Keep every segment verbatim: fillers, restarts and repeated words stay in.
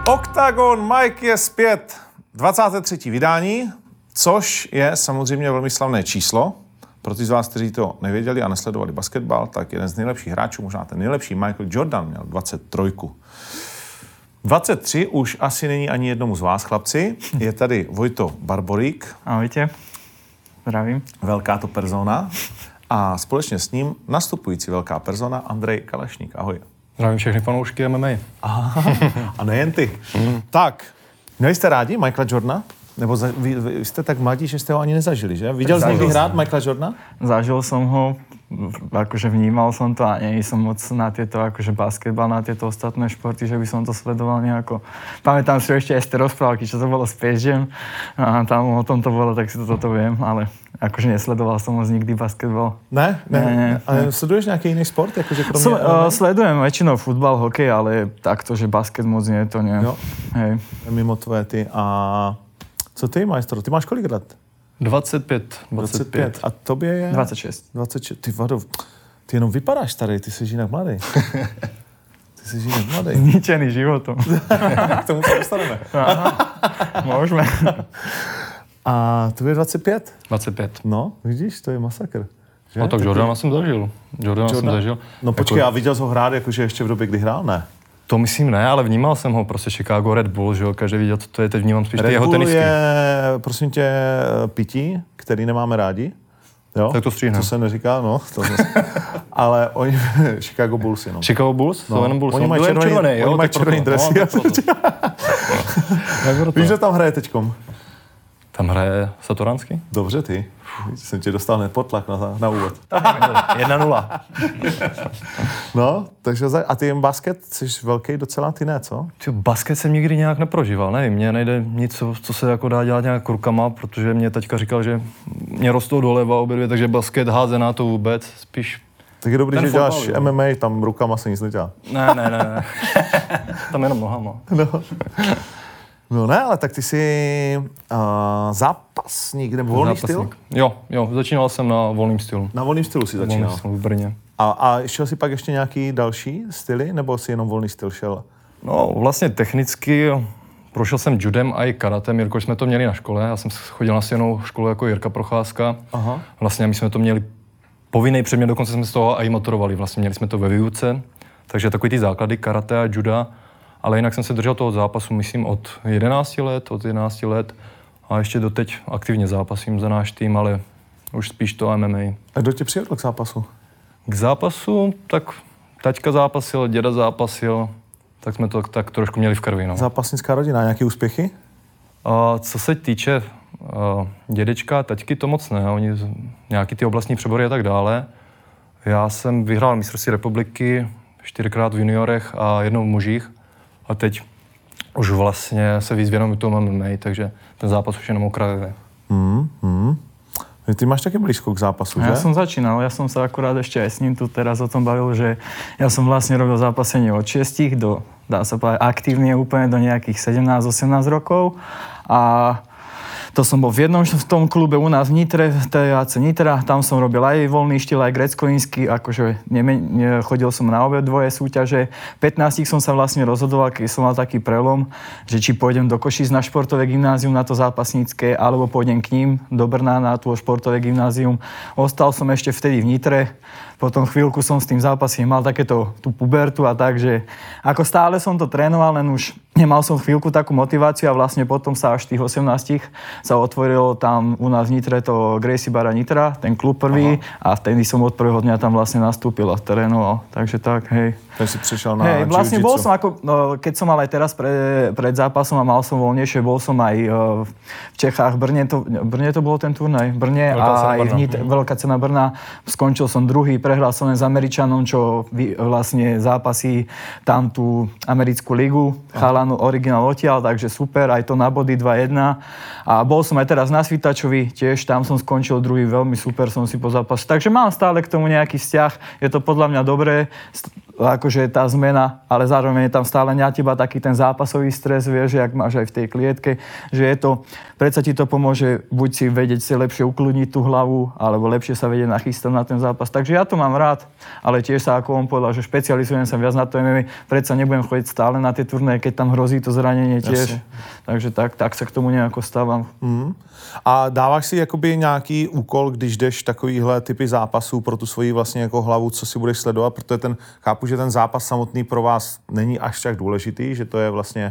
Oktagon Mike je zpět. dvacáté třetí vydání, což je samozřejmě velmi slavné číslo. Pro ty z vás, kteří to nevěděli a nesledovali basketbal, tak jeden z nejlepších hráčů, možná ten nejlepší, Michael Jordan, měl dvacet tři. dvacet tři už asi není ani jednomu z vás, chlapci. Je tady Vojto Barborík. Ahojte, zdravím. Velká to persona. A společně s ním nastupující velká persona Andrej Kalašník. Ahoj. Zdravím všechny fanoušky M M A. Aha, a nejen ty. Mm. Tak, měli jste rádi Michaela Jordana? Nebo za, vy, vy jste tak mladí, že jste ho ani nezažili, že? Viděl jsi někdy hrát Michaela Jordana? Zažil som ho, akože vnímal som to a nie som moc na tieto, akože basketbal, na tieto ostatné športy, že by som to sledoval nejako. Pamätám si ešte aj z tej rozprávky, čo to bolo s Space Jam. A tam o tom to bolo, tak si to toto viem, ale akože nesledoval som moc nikdy basketbal. Ne? Ne? ne, ne. Ale sleduješ nejaký iný sport? Akože kromě Sl- uh, sledujem väčšinou futbal, hokej, ale takto, že basket moc nie, to nie. Jo. Hej. Mimo tvoje ty. A co ty, majstro? Ty máš kolik let? dvacet pět. dvacet pět. A tobě je? dvacet šest. dvacet šest. Ty vado, ty jenom vypadáš starý, ty jsi jinak mladý. Ty jsi jinak mladý. Zničený životom. K tomu se dostaneme. Môžeme. A tobě je dvacet pět? dvacet pět. No, vidíš, to je masakr. Že? No tak Jordana jsem zažil. Jordana jsem zažil. No počkej, jako... a viděl jsi ho hrát jakože ještě v době, kdy hrál? Ne. To myslím ne, ale vnímal jsem ho, prostě Chicago Red Bull, že jo, každý viděl, co to je, teď vnímám spíš Red ty jeho tenisky. Red Bull je, prosím tě, pití, který nemáme rádi. Jo? Tak to stříhne. To se neříká, no. To ale oni, Chicago Bulls jenom. Chicago Bulls? No. To jenom Bulls. Oni mají červený, červený, jo, oni mají červený dresy. No, Víš, že tam hraje teďkom? Tam hraje Satoranský? Dobře ty. Jsem tě dostal hned pod tlak na, na úvod. jedna nula. No, takže a ty jen basket, jsi velký docela, ty ne, co? Ty, basket jsem nikdy nějak neprožíval, nevím, mně nejde nic, co, co se jako dá dělat nějak rukama, protože mě teďka říkal, že mě rostou doleva obě dvě, takže basket, házená to vůbec, spíš. Tak je dobrý, že fotbal, děláš jo. M M A, tam rukama se nic nedělá. Ne, ne, ne, ne. Tam jenom nohama. No. No ne, ale tak ty jsi uh, zápasník nebo volný Zápasník. styl? Jo, jo, začínal jsem na volným stylu. Na volným stylu si začínal? Volný styl v Brně. A, a šel jsi pak ještě nějaký další styly, nebo jsi jenom volný styl šel? No vlastně technicky prošel jsem judem a i karatem, jelikož jsme to měli na škole. Já jsem chodil na stejnou školu jako Jirka Procházka. Aha. Vlastně my jsme to měli povinný předmět, dokonce jsme z toho i maturovali. Vlastně měli jsme to ve výuce, takže takový ty základy karate a juda. Ale jinak jsem se držel toho zápasu, myslím, od jedenácti let, od jedenácti let a ještě doteď aktivně zápasím za náš tým, ale už spíš to M M A. A kdo tě přivedl k zápasu? K zápasu, tak taťka zápasil, děda zápasil, tak jsme to tak trošku měli v krvi. No. Zápasnická rodina, nějaké úspěchy? A co se týče a, dědečka, taťky to moc ne, oni nějaký ty oblastní přebory a tak dále. Já jsem vyhrál mistrovství republiky čtyřikrát v juniorech a jednou v mužích. A teď už vlastně se víc věnuju tomu M M A, takže ten zápas už jenom okrajuje. Hmm, hmm. Ty máš také blízko k zápasu, že? Ja som začínal, ja som sa akurát ešte aj s ním tu teraz o tom bavil, že ja som vlastne robil zápasenie od šiestich do, dá sa povedať, aktívne úplne do nejakých sedemnásť osemnásť rokov. A to som bol v jednom v tom klube u nás v Nitre, v té á cé Nitra, tam som robil aj voľný štýl, aj grécko-ínsky, akože neme, ne, chodil som na obe dvoje súťaže. V pätnástich som sa vlastne rozhodoval, keď som mal taký prelom, že či pôjdem do Košíc na športové gymnázium, na to zápasnícke, alebo pôjdem k ním do Brna na to športové gymnázium. Ostal som ešte vtedy v Nitre, potom chvíľku som s tým zápasím, mal takéto tú pubertu a tak, že ako stále som to trénoval, len už nemal som chvíľku takú motiváciu a vlastne potom sa až v tých osemnástich sa otvorilo tam u nás v Nitre to Gracie Bara Nitra, ten klub prvý. Aha. A vtedy som od prvého dňa tam vlastne nastúpil a trénoval. Takže tak, hej. Takže si prišiel na hej, vlastne jiu-jitsu. bol som ako, no, keď som mal aj teraz pre, pred zápasom a mal som voľnejšie, bol som aj uh, v Čechách, v Brne to, Brne to bol ten turnaj, v Brne a aj v Nitre, Veľká cena Brna. Skončil som druhý, prehral som len s Američanom, čo vy, vlastne zápasí tam tú americkú ligu, chalanu originál odtiaľ, takže super, aj to na body dva jedna. A bol som aj teraz na Svitačovi, tiež tam som skončil druhý, veľmi super som si po zápase. Takže mám stále k tomu nejaký vzťah, je to podľa mňa dobré. akože tá zmena, ale zároveň je tam stále na teba taký ten zápasový stres, vieš, jak máš aj v tej klietke, že je to, predsa ti to pomôže buď si vedieť si lepšie ukludniť tú hlavu, alebo lepšie sa vedieť nachystať na ten zápas. Takže ja to mám rád, ale tiež sa, ako on povedal, že špecializujem sa viac na to em em á, predsa nebudem chodiť stále na tie turnaje, keď tam hrozí to zranenie tiež. Jasne. Takže tak, tak sa k tomu nejako stávam. Mm. A dáváš si jakoby nějaký úkol, když jdeš takovýhle typy zápasů pro tu svoji vlastně jako hlavu, co si budeš sledovat, protože ten, chápu, že ten zápas samotný pro vás není až tak důležitý, že to je vlastně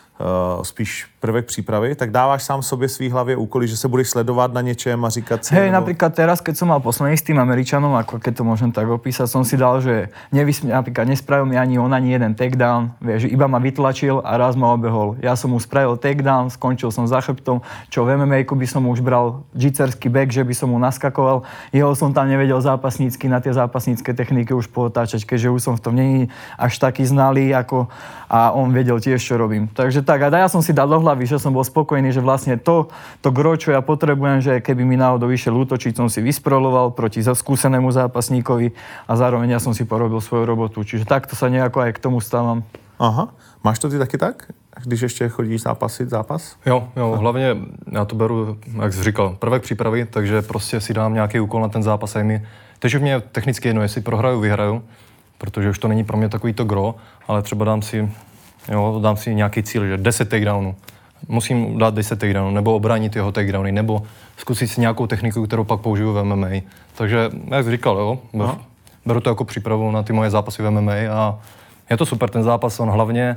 uh, spíš prvek přípravy, tak dáváš sám sobě svý hlavě úkoly, že se budeš sledovat na něčem a říkat si... Hej, nebo... napríklad teraz, keď som mal posledný s tým Američanom, ako keď to môžem tak opísať, som si dal, že nevysmi, napríklad nespravil mi ani on, ani jeden takedown, vieš, že iba ma vytlačil a raz ma obehol. Ja som mu spravil takedown, skončil som za chrbtom, čo v em em á by som už bral jitserský back, že by som mu naskakoval. Jeho som tam nevedel zápasnícky na tie zápasnícke techniky už pootáčať, keďže už som v tom není až taký znalý, ako a on vedel tiež, čo robím. Takže tak, a ja som si dal do hlavy, že som bol spokojný, že vlastne to, to gro, čo ja potrebujem, že keby mi náhodou išiel útočiť, som si vysproloval proti skúsenému zápasníkovi a zároveň ja som si porobil svoju robotu. Čiže takto sa nejako aj k tomu stávam. Aha. Máš to ty taky tak? Když ještě chodíš zápasit zápas? Jo, jo, hlavně já to beru, jak jsi říkal, prvek přípravy, takže prostě si dám nějaký úkol na ten zápas a mi, teď už mě technicky jedno, jestli prohraju, vyhraju, protože už to není pro mě takový to gro, ale třeba dám si, jo, dám si nějaký cíl, že deset takedownů. Musím dát deset takedownů, nebo obránit jeho takedowny, nebo zkusit si nějakou techniku, kterou pak použiju v em em á. Takže, jak jsi říkal, jo, no. Beru to jako přípravu na ty moje zápasy v em em á a je to super ten zápas, on hlavně,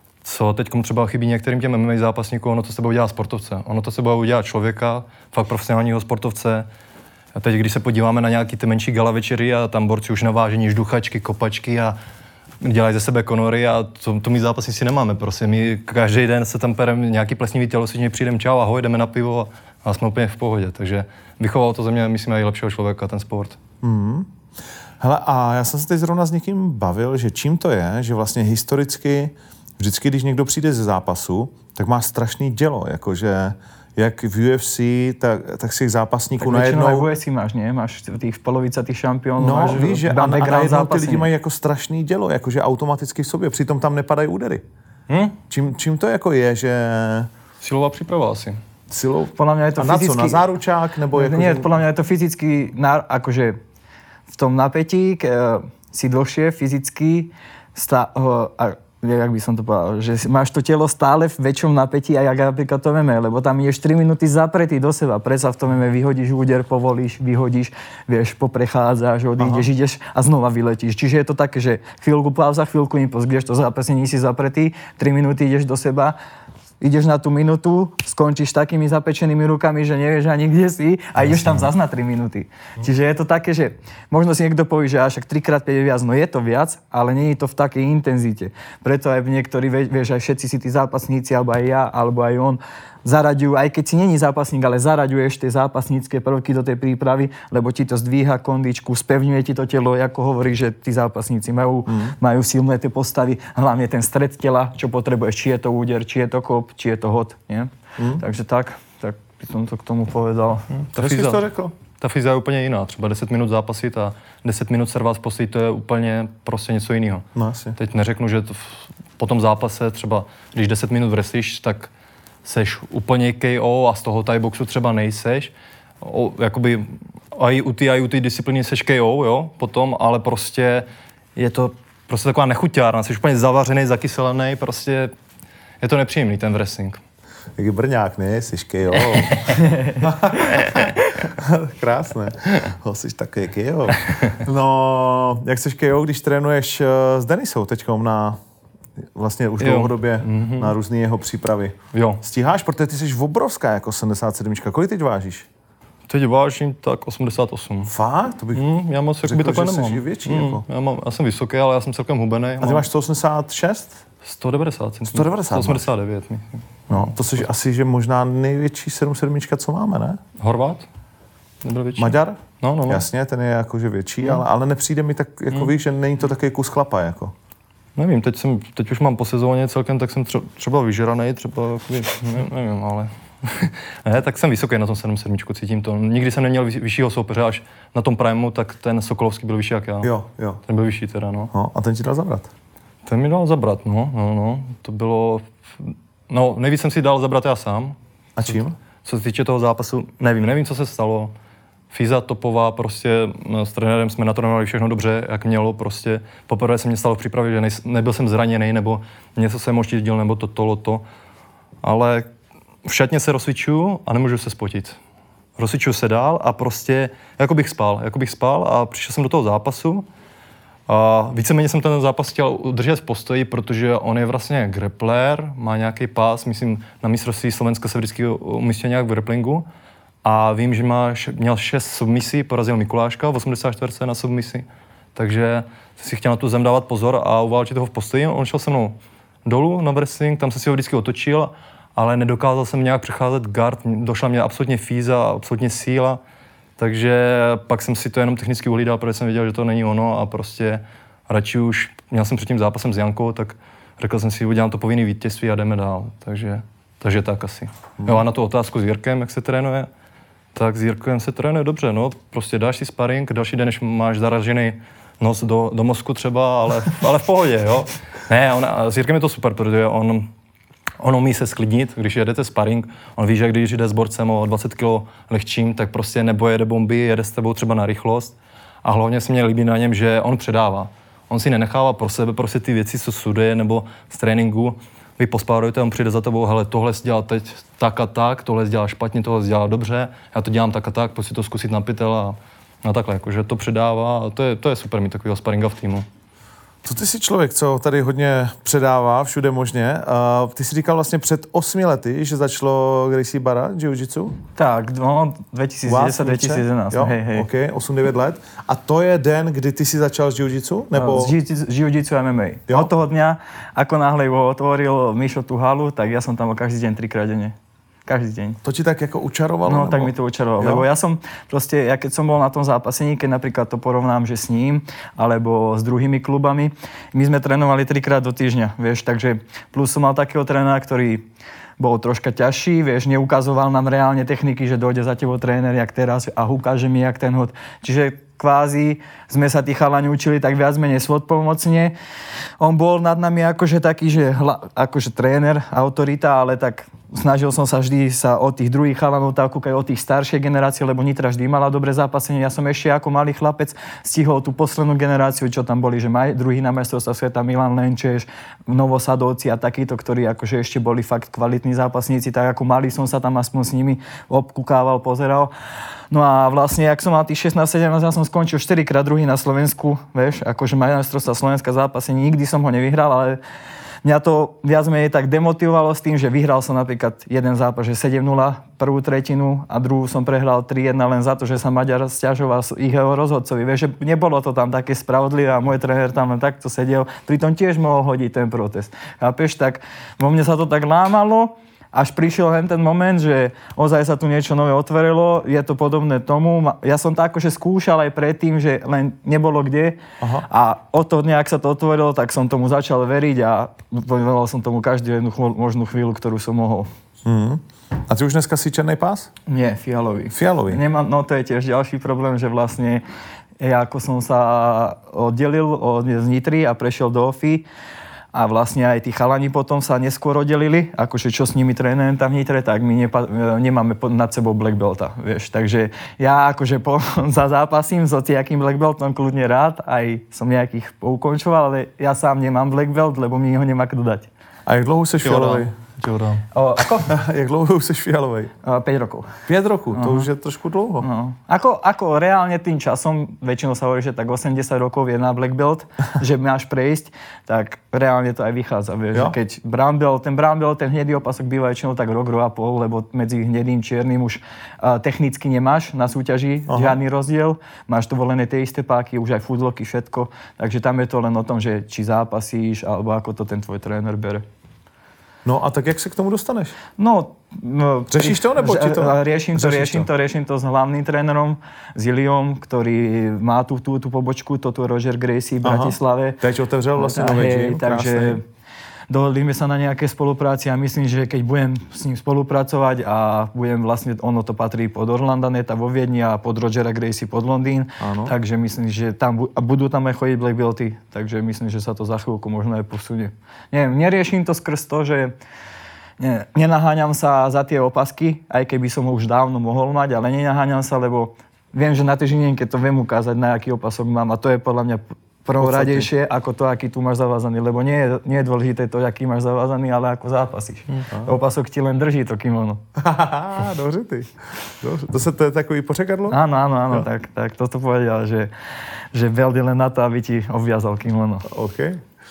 co teď třeba chybí některým těm em em á zápasníkům, ono to s tebou udělá sportovce, ono to s tebou udělá člověka, fakt profesionálního sportovce. A teď, když se podíváme na nějaký ty menší gala večery a tam borci už navážení žduchačky, kopačky a dělají ze sebe konory a to, to my zápasníci nemáme, prostě my každý den se tam pereme nějaký plesnivý tělocvičně, přijdeme čau, ahoj, jdeme na pivo a, a jsme úplně v pohodě, takže vychoval to ze mě, myslím, i lepšího člověka, ten sport. Mm. Hele, a já jsem se teď zrovna s někým bavil, že čím to je, že vlastně historicky, vždycky, když někdo přijde ze zápasu, tak má strašný dělo, jakože jak v U F C, tak, tak si zápasníků najednou... Tak v U F C máš, nie? Máš tých polovica tých šampionů, no, máš víš, že a, a najednou ty lidi mají jako strašný dělo, jakože automaticky v sobě, přitom tam nepadají údery. Hm? Čím, čím to jako je, že... Silová příprava asi. Silou? Podľa mňa je to a na fyzicky... co? Na záručák? Nebo jako, nie, že... podľa mňa je to fyzicky, akože v tom napätí k, si dlhšie fyzicky stá, a, jak by som to povedal, že máš to telo stále v väčšom napätí a jak napríklad to em em á, lebo tam ideš tri minúty zapretý do seba. Predsa v tom em em á vyhodíš úder, povolíš, vyhodíš, vieš, poprechádzaš, odídeš, Aha. ideš a znova vyletíš. Čiže je to také, že chvíľku pauza, chvíľku impuls, kdežto zápasne si zapretý, tri minúty ideš do seba, ideš na tú minútu, skončíš takými zapečenými rukami, že nevieš ani kde si a ideš tam zas na tri minúty. Čiže je to také, že možno si niekto povie, že až trikrát päť je viac, no je to viac, ale nie je to v takej intenzite. Preto aj niektorí, vieš, aj všetci si tí zápasníci, alebo aj ja, alebo aj on, zaraďujú, aj keď si není zápasník, ale zaraďuješ tie zápasnícke prvky do tej prípravy, lebo ti to zdvíha kondičku, spevňuje ti to telo, ako hovorí, že tí zápasníci majú, mm. majú silné tie postavy, hlavne ten stred tela, čo potrebuješ, či je to úder, či je to kop, či je to hod, nie? Mm. Takže tak, tak by som to k tomu povedal. Mm. Ta fyza, to řekl? Ta fyza je úplně jiná, třeba deset minut zápasit a deset minut servát poslit, to je úplně prostě něco jiného. No, asi. Teď neřeknu, že to v, po tom zápase třeba, když deset minut wrestlíš, tak seš úplně K O a z toho Thai boxu třeba nejseš. O, jakoby aj u té, aj u té disciplíny seš K O, jo, potom, ale prostě je to prostě taková nechuťárna, jsi úplně zavařený, zakyselený, prostě je to nepříjemný ten wrestling. Jak je Brňák, ne? Jsi K O. Krásné. Ho, jsi takový K O. No, jak jsi K O, když trénuješ s Denisou teďkom na vlastně už dlouhodobě mm-hmm. na různé jeho přípravy. Jo. Stíháš, protože ty jsi obrovská jako sedmdesát sedm. Kolik teď vážíš? Teď vážím tak osmdesát osm. Fakt? To bych mm, já moc řekl, takhle že nemám. jsi větší. Mm, jako. já, mám, já jsem vysoký, ale já jsem celkem hubený. A ty máš sto osmdesát šest? sto devadesát. sto devadesát sto osmdesát devět. Myslím. No, to jsi asi, že možná největší sedm sedm, co máme, ne? Horvát? Nebyl větší? Maďar? No, no, no. Jasně, ten je jakože větší, mm. ale, ale nepřijde mi tak, jako mm. víš, že není to takový kus chlapa, jako. Nevím, teď, jsem, teď už mám po sezóně celkem, tak jsem třeba, třeba vyžranej, třeba, ne, nevím, ale... ne, tak jsem vysoký na tom sedm sedm, cítím to. Nikdy jsem neměl vyššího soupeře, až na tom Primeu, tak ten Sokolovský byl vyšší jak já. Jo, jo. Ten byl vyšší teda, no. no. A ten ti dal zabrat? Ten mi dal zabrat, no, no, no. To bylo, no, nejvíc jsem si dal zabrat já sám. A čím? Co se týče toho zápasu, nevím, nevím, co se stalo. Fíza topová, prostě s trenérem jsme natrénovali všechno dobře, jak mělo, prostě poprvé se mě stalo v přípravě, že nej, nebyl jsem zraněný, nebo něco jsem oštítil, nebo to, to, to. Ale v šatně se rozcvičuju a nemůžu se spotit. Rozcvičuju se dál a prostě, jako bych spal, jako bych spal a přišel jsem do toho zápasu. A víceméně jsem ten zápas chtěl udržet v postoji, protože on je vlastně grappler, má nějaký pás, myslím, na mistrovství Slovenska se vždycky umístil nějak v grapplingu. A vím, že má, měl šest submisí, porazil Mikuláška v osmdesát čtyři na submisi. Takže si chtěl na tu zem dávat pozor a uválčit ho v postoji. On šel se mnou dolů na wrestling, tam jsem si ho vždycky otočil, ale nedokázal jsem nějak přecházet guard. Došla mě absolutně fíza, absolutně síla. Takže pak jsem si to jenom technicky uhlídal, protože jsem věděl, že to není ono a prostě radši už, měl jsem před tím zápasem s Jankou, tak řekl jsem si, udělám to povinný vítězství a jdeme dál. Takže, takže tak asi. Hmm. Jo, a na tu otázku s Jirkem, jak se trénuje, tak s Jirkem se trénuje dobře, no. Prostě dáš si sparring, další den, než máš zaražený nos do, do mozku třeba, ale, ale v pohodě, jo. Ne, on, s Jirkem je to super, protože on, on umí se sklidnit, když jedete sparring, on ví, že když jde s borcem o dvacet kilo lehčím, tak prostě nebo jede bomby, jede s tebou třeba na rychlost. A hlavně se mě líbí na něm, že on předává. On si nenechává pro sebe prostě ty věci, co studuje nebo z tréninku. Vy pospárujete, on přijde za tebou, hele, tohle jsi dělal teď tak a tak, tohle jsi dělal špatně, tohle jsi dělal dobře, já to dělám tak a tak, pojď si to zkusit na pytel a, a takhle, jakože to předává a to je, to je super mít takového sparinga v týmu. Co ty jsi člověk, co tady hodně předává, všude možně. Uh, ty jsi říkal vlastně před osmi lety, že začalo Gracie Barra jiu-jitsu? Tak, no, dvetisícdesať dvetisícjedenásť, jo, hej, hej. OK, osm devět let. A to je den, kdy ty si začal s jiu-jitsu? Nebo... S jiu-jitsu a em em á. Jo? Od toho dňa, ako náhle ho otvoril Mišo tú halu, tak ja som tam každý deň trikrát denne. Každý deň. To ti tak jako učarovalo? No, nebo? tak mi to učarovalo, lebo ja som proste, ja keď som bol na tom zápasení, keď napríklad to porovnám, že s ním, alebo s druhými klubami, my sme trénovali trikrát do týždňa, vieš, takže plus som mal takého trénera, ktorý bol troška ťažší, vieš, neukazoval nám reálne techniky, že dojde za tebou tréner, jak teraz a ukáže mi, jak ten hod. Čiže kvázi sme sa tí chalani učili tak viac menej svojpomocne. On bol nad nami akože taký, že hla, akože tréner, autorita, ale tak snažil som sa vždy sa od tých druhých chalanov tak kúkať od tých staršej generácie, lebo Nitra vždy mala dobré zápasenie. Ja som ešte ako malý chlapec stihol tú poslednú generáciu, čo tam boli, že maj, druhý na majstrovstvá sveta Milan Lenčeš, Novosadovci a takíto, ktorí akože ešte boli fakt kvalitní zápasníci, tak ako malý som sa tam aspoň s nimi obkúkával, pozeral. No a vlastne, ak som mal tých šestnásť sedemnásť, ja som skončil štyrikrát druhý na Slovensku, vieš, akože majstrovstvá Slovenska zápasenie, nikdy som ho nevyhral, ale mňa to viac menej tak demotivovalo s tým, že vyhral som napríklad jeden zápas, že sedem nula prvú tretinu a druhú som prehral tri jedna len za to, že sa Maďar sťažoval ich rozhodcovi. Vieš, že nebolo to tam také spravodlivé a môj tréner tam len takto sedel, pritom tiež mohol hodiť ten protest. Chápeš, tak vo mne sa to tak lámalo, až prišiel len ten moment, že ozaj sa tu niečo nové otvorilo, je to podobné tomu. Ja som to akože skúšal aj predtým, že len nebolo kde. Aha. A od toho dňa, ak sa to otvorilo, tak som tomu začal veriť a venoval som tomu každú jednu možnú chvíľu, ktorú som mohol. Mm. A ty už dneska si černý pás? Nie, fialový. Fialový? Nemám, no to je tiež ďalší problém, že vlastne ja ako som sa oddelil od z Nitry a prešiel do Ofy, a vlastne aj tí chalani potom sa neskôr oddelili, akože čo s nimi trénujem tam v Nitre, tak my nepa- nemáme nad sebou black belta, vieš. Takže ja akože po, za zápasím s hociakým black beltom kľudne rád, aj som nejakých poukončoval, ale ja sám nemám black belt, lebo mi ho nemá kto dať. A jak dlouho jsi fialovej? O, ako? Jak dlouho jsi fialovej? päť rokov. päť rokov, to uh-huh. už je trošku dlouho. No. Ako, ako reálne tým časom, väčšinou sa hovorí, že tak osemdesiat rokov je na black belt, že máš prejsť, tak reálne to aj vychádza. Vieš, že keď brown belt, ten brown belt, ten hnedý opasok býva väčšinou tak rok, rok a pol, lebo medzi hnedým čiernym už uh, technicky nemáš na súťaži uh-huh. žiadny rozdiel. Máš to volené tie isté páky, už aj foodlocky, všetko. Takže tam je to len o tom, že či zápasíš, alebo ako to ten tvoj tréner bere. No a tak jak se k tomu dostaneš? No, no řešíš to, nebo ti to? Riešim to, riešim to, riešim to s hlavným trénerom, s Iliom, ktorý má tú, tú, tú pobočku, toto Roger Gracie v Bratislave. Teď otevřel vlastně nový gym, takže dohodli sme sa na nejaké spolupráci a myslím, že keď budem s ním spolupracovať a budem vlastne, ono to patrí pod Orlanda Neta vo Viedni a pod Rogera Gracie pod Londýn, áno. Takže myslím, že tam bu- a budú tam aj chodiť black belty, takže myslím, že sa to za chvíľku možno aj posunie. Neviem, neriešim to skrz to, že ne, nenaháňam sa za tie opasky, aj keby som ho už dávno mohol mať, ale nenaháňam sa, lebo viem, že na tej žinienke to viem ukázať, na aký opasok mám a to je podľa mňa prvoradejšie ako to, aký tu máš zavázaný, lebo nie je, nie je dôležité to, aký máš zavázaný, ale ako zápasíš. Mm. Opasok ti len drží to kimono. Dobře ty. Dobře. To, se, to je takový pořekadlo? Áno, áno, áno, tak, tak toto povedal, že, že belt je len na to, aby ti obviazal kimono. OK.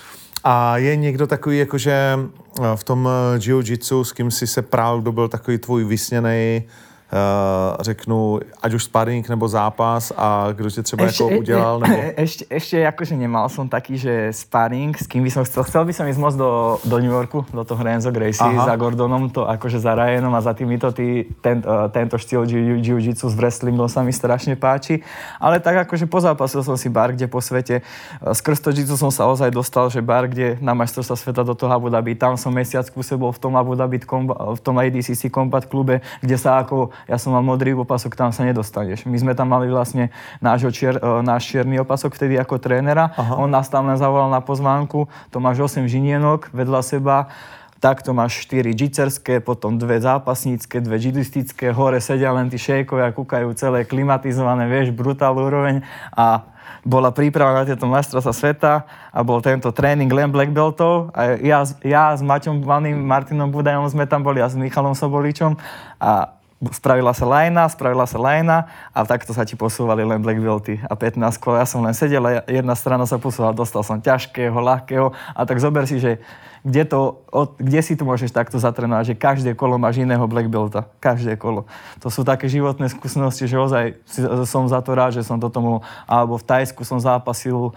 A je někdo takový, jakože v tom jiu-jitsu, s kým si se prál, kdo byl takový tvůj vysněnej, Uh, řeknu, ať už sparring nebo zápas a kdo tě třeba ešte, jako udělal? Nebo... Ešte, ešte akože nemal som taký, že sparring, s kým by som chcel. Chcel by som ísť moc do, do New Yorku, do toho Renzo Gracie za Gordonom, to akože za Ryanom a za týmito, tý, ten, uh, tento štýl jiu-jitsu s wrestlingom sa mi strašne páči. Ale tak akože pozápasil som si bar, kde po svete. Uh, skrz to jiu-jitsu som sa ozaj dostal, že bar, kde na majstrovstvá sveta do toho Abu Dhabi, tam som mesiac pôsobil v tom Abu Dhabi, v tom A D C C Combat klube, kde sa ako ja som mal modrý opasok, tam sa nedostaneš. My sme tam mali vlastne nášho čier, náš čierny opasok vtedy ako trénera. Aha. On nás tam len zavolal na pozvánku. To máš osem žinienok vedľa seba. Takto máš štyri džicerské, potom dve zápasnícke, dve jidistické. Hore sedia len tí šejkovia, kúkajú celé klimatizované, vieš, brutál úroveň. A bola príprava na tieto majstrovstvá sveta a bol tento tréning len black beltov. A ja, ja s Maťom Vaným, Martinom Budajom sme tam boli a s Michalom Soboličom. A spravila sa lajna, spravila sa lajna a takto sa ti posúvali len black belty a pätnásť kol. Ja som len sedel a jedna strana sa posúvala, dostal som ťažkého, ľahkého a tak zober si, že kde, to, od, kde si tu môžeš takto zatrénovať, že každé kolo máš iného black belta. Každé kolo. To sú také životné skúsenosti, že ozaj som za to rád, že som do tomu, alebo v Thajsku som zápasil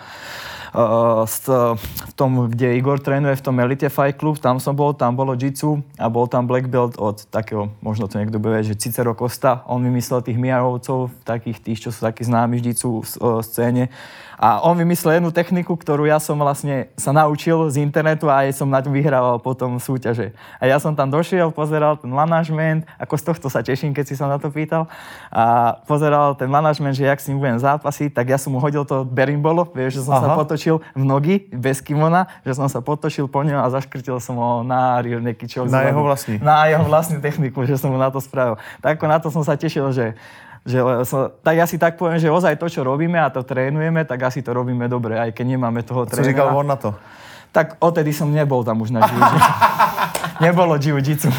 Uh, v tom, kde Igor trénuje, v tom Elite Fight Club, tam som bol, tam bolo jitsu a bol tam black belt od takého, možno to niekto bude vedieť, že Cicero Costa, on vymyslel tých Miarovcov, takých tých, čo sú takí známi v jitsu uh, scéne. A on vymyslel jednu techniku, ktorú ja som vlastne sa naučil z internetu a aj som na ňu vyhrával potom súťaže. A ja som tam došiel, pozeral ten manažment, ako z tohto sa teším, keď si sa na to pýtal. A pozeral ten manažment, že jak s ním budem zápasiť, tak ja som mu hodil to berimbolo, vieš, že som Aha. sa potočil v nogy, bez kimona, že som sa potočil po ňom a zaškrtil som ho na rivne kyčov. Na jeho vlastní. Na jeho vlastnú techniku, že som mu na to spravil. Tak ako na to som sa tešil, že Že, tak ja si tak poviem, že ozaj to, čo robíme a to trénujeme, tak asi to robíme dobre, aj keď nemáme toho trénera. Co říkal on na to? Tak odtedy som nebol tam už na jiu-jitsu. Nebolo jiu-jitsu.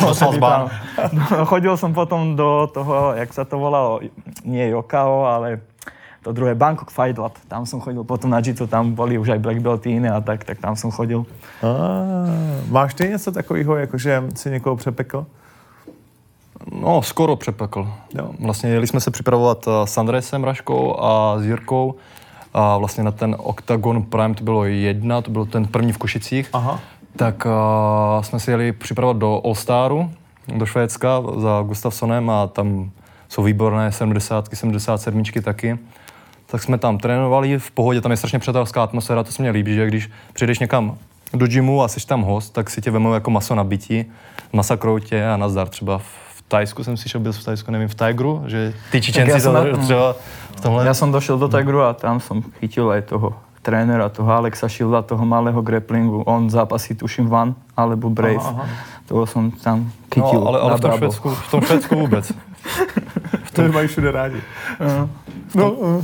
Chodil som potom do toho, jak sa to volalo, nie Yokao, ale to druhé Bangkok Fight Lab. Tam som chodil potom na jiu-jitsu, tam boli už aj black belty iné a tak, tak tam som chodil. A, máš ty něco takového, jakože si někoho přepekl? No, skoro přepekl. Jo. Vlastně jeli jsme se připravovat s Andresem Raškou a s Jirkou a vlastně na ten Octagon Prime, to bylo jedna, to byl ten první v Košicích. Aha. Tak uh, jsme si jeli připravovat do All Staru, do Švédska za Gustafsonem a tam jsou výborné sedmdesátky, sedmdesát sedm taky. Tak jsme tam trénovali, v pohodě, tam je strašně přátelská atmosféra, to se mně líbí, že když přijdeš někam do gymu a jsi tam host, tak si tě vemou jako maso na bytí, masakrou tě a nazdar třeba v Tajsku jsem si šel, byl v Tajsku, nevím, v Tigru, že ty Čičenci ja to třeba v tomhle... Ja som došiel do Tigru a tam som chytil aj toho trénera, toho Alexa Shielda, toho malého grapplingu. On zápasí, tuším, Van alebo Brave. Aha, aha. Toho som tam chytil. No, ale, ale v tom Švédsku, v tom Švédsku vůbec. V tom mají všude rádi. Uh, no. Uh.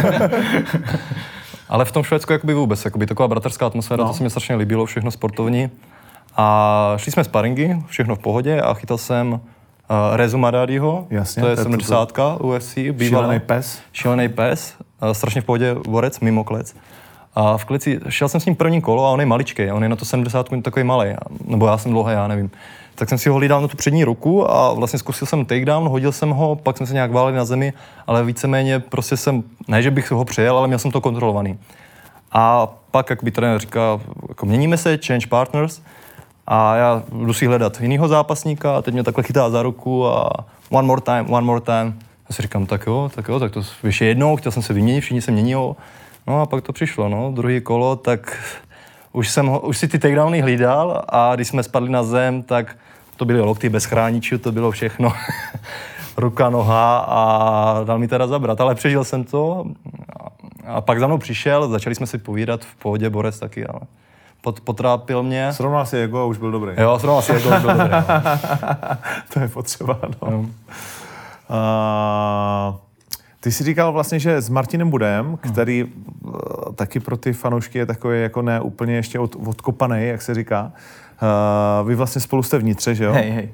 Ale v tom Švédsku jakoby vůbec, jakoby taková bratrská atmosféra, no. To se mi strašně líbilo, všechno sportovní. A šli jsme sparingy, všechno v pohodě a chytal jsem Uh, Rezu Madadiho, Jasně, to je sedmdesátka U F C, bývalý šílený pes. Šílený pes, uh, strašně v pohodě borec, mimo klec. A v kleci, šel jsem s ním první kolo a on je maličkej, on je na to sedmdesátku takový malej, nebo já jsem dlouhý, já nevím. Tak jsem si ho hlídal na tu přední ruku a vlastně zkusil jsem takedown, hodil jsem ho, pak jsme se nějak váleli na zemi, ale víceméně prostě jsem, ne že bych ho přejel, ale měl jsem to kontrolovaný. A pak, jak by trenér říkal, jako měníme se, change partners. A já jdu si hledat jinýho zápasníka a teď mě takhle chytá za ruku a one more time, one more time. Já si říkám, tak jo, tak jo, tak to ještě jednou, chtěl jsem se vyměnit, všichni se měnilo. No a pak to přišlo, no, druhý kolo, tak už, jsem, ho- už si ty takedowny hlídal a když jsme spadli na zem, tak to byly lokty bez chráničů, to bylo všechno. Ruka, noha a dal mi teda zabrat, ale přežil jsem to a pak za mnou přišel, začali jsme si povídat v pohodě, borec taky, ale pot, potrápil mě. Srovnal si ego a už byl dobrý. Jo, srovnal si ego a už byl dobrý. No. To je potřeba, no. No. Uh, ty jsi říkal vlastně, že s Martinem Budem, který uh, taky pro ty fanoušky je takový jako ne úplně ještě od, odkopaný, jak se říká. Uh, vy vlastně spolu jste vnitře, že jo? Hej, hej.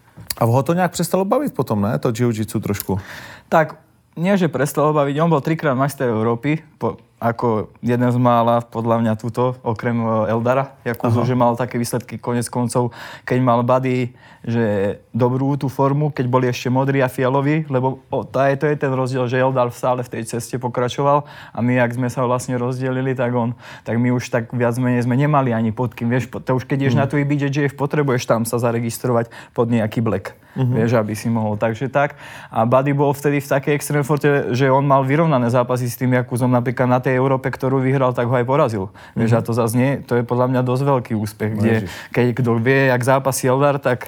A ho to nějak přestalo bavit potom, ne? To jiu-jitsu trošku. Tak, nie, že prestalo baviť. On bol trikrát majster Európy, po, ako jeden z mála, podľa mňa túto, okrem Eldara Jakuzu, že mal také výsledky konec koncov, keď mal Buddy, že dobrú tú formu, keď boli ešte modrí a fialoví, lebo o, to, je, to je ten rozdiel, že Eldar stále v tej ceste pokračoval a my, ak sme sa vlastne rozdelili, tak on, tak my už tak viac menej sme nemali ani pod kým, vieš, to už keď ideš mm. na tú í bé jé jé ef, potrebuješ tam sa zaregistrovať pod nejaký black, mm-hmm. vieš, aby si mohol, takže tak. A Buddy bol vtedy v takej extrém forte, že on mal vyrovnané zápasy s tým Jakuzom, napríklad na tej Európe, ktorú vyhral, tak ho aj porazil. Mm-hmm. Vieš, a to zase nie, to je podľa mňa dosť veľký úspech, kde, keď kto vie, jak zápasí Eldar, tak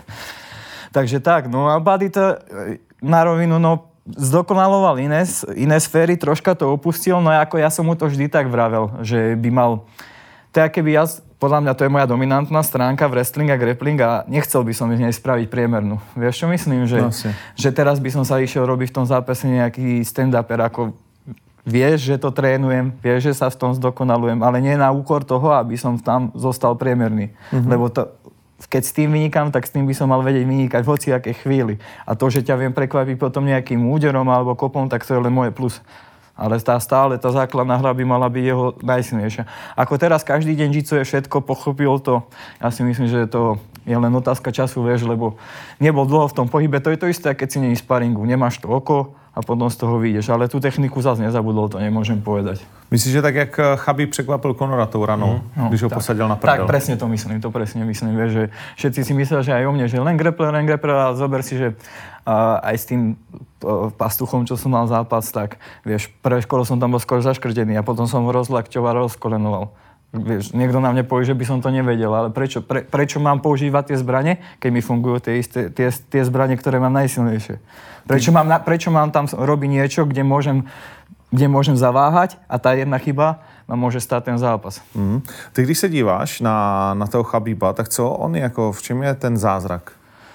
takže tak, no a Buddy to na rovinu, no zdokonaloval iné, iné sféry, troška to opustil, no ako ja som mu to vždy tak vravel, že by mal, to je keby ja, podľa mňa to je moja dominantná stránka v wrestling a grappling a nechcel by som z nej spraviť priemernú. Vieš čo myslím? Že, no, že teraz by som sa išiel robiť v tom zápase nejaký stand-uper, ako vieš, že to trénujem, vieš, že sa v tom zdokonalujem, ale nie na úkor toho, aby som tam zostal priemerný. Mm-hmm. Lebo to, keď s tým vynikám, tak s tým by som mal vedieť vynikať v hociakej chvíli. A to, že ťa viem prekvapiť potom nejakým úderom alebo kopom, tak to je len moje plus. Ale tá stále, tá základná hra by mala byť jeho najsilnejšia. Ako teraz každý deň jiu-jitsu je všetko, pochopil to. Ja si myslím, že to je len otázka času, vieš, lebo nebol dlho v tom pohybe. To je to isté, keď si není sparingu. Nemáš to oko a potom z toho vyjdeš. Ale tú techniku zase nezabudol, to nemôžem povedať. Myslíš, že tak, jak Chabib překvapil Conora tou ranou, mm, no, když ho tak posadil na prdel? Tak, presne to myslím, to presne myslím, vieš, že všetci si myslia, že aj o mne, že len grappler, len grappler a zober si, že a aj s tým pastuchom, čo som mal zápas, tak vieš, prvé kolo som tam bol skoro zaškrtený a potom som ho rozlakťoval, rozkolenoval. Vieš, niekto na mne povie, že by som to nevedel, ale prečo, pre, prečo mám používať tie zbrane, keď mi fungujú tie, isté, tie, tie zbrane, ktoré mám najsilnejšie? Prečo mám, prečo mám tam robiť niečo, kde môžem, kde môžem zaváhať a tá jedna chyba ma môže stát ten zápas. Mm. Ty, když se díváš na, na toho Chabiba, tak co on jako, v čem je ten zázrak?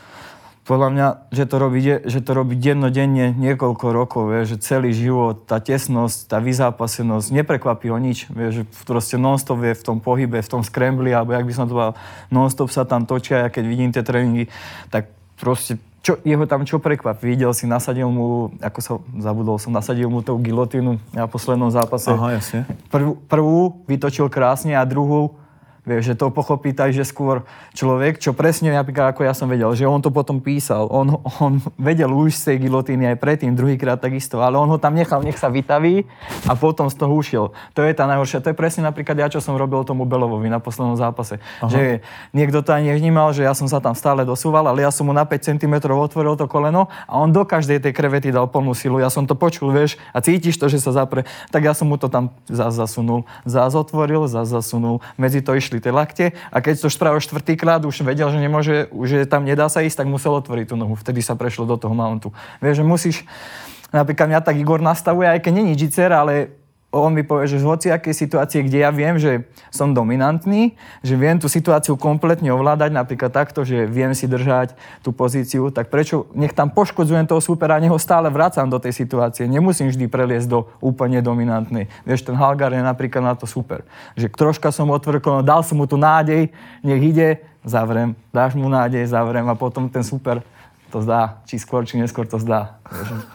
Podľa mňa, že to robí, že to robí dennodenne niekoľko rokov, vieš, že celý život, tá tesnosť, tá vyzápasenosť, neprekvapí ho nič, vieš, že proste non-stop je v tom pohybe, v tom scrambli, alebo jak by som to povedal, non-stop sa tam točia, a keď vidím tie tréningy, tak proste čo, jeho tam čo prekvapí. Videl si, nasadil mu, ako sa zabudol som, nasadil mu tú gilotínu na poslednom zápase. Aha, jasne. Prvú, prvú vytočil krásne a druhú, vieš, že to pochopí tak, že skôr človek, čo presne napríklad ako ja som vedel, že on to potom písal, on, on vedel už z tej gilotíny aj predtým, druhýkrát takisto, ale on ho tam nechal, nech sa vytaví a potom z toho ušiel. To je tá najhoršia, to je presne napríklad ja, čo som robil tomu Belovovi na poslednom zápase. Aha. Že niekto to ani nevnímal, že ja som sa tam stále dosúval, ale ja som mu na päť centimetrov otvoril to koleno a on do každej tej krevety dal plnú silu. Ja som to počul, vieš, a cítiš to, že sa zapre, tak ja som mu to tam zás zasunul, zás otvoril, zás zasunul, medzi to išli tie lakte a keď to spravil štvrtýkrát, už vedel, že nemôže, že tam nedá sa ísť, tak musel otvoriť tú nohu. Vtedy sa prešlo do toho mountu. Vieš, že musíš, napríklad mňa tak Igor nastavuje, aj keď není jiu-jitser, ale on mi povie, že v hociakej situácii, kde ja viem, že som dominantný, že viem tú situáciu kompletne ovládať, napríklad takto, že viem si držať tú pozíciu, tak prečo nech tam poškodzujem toho supera a neho stále vracam do tej situácie. Nemusím vždy preliesť do úplne dominantnej. Vieš, ten Halgar je napríklad na to super. Že troška som otvoril, dal som mu tú nádej, nech ide, zavrem, dáš mu nádej, zavrem a potom ten super to zdá. Či skôr, či neskôr to zdá. Vieš.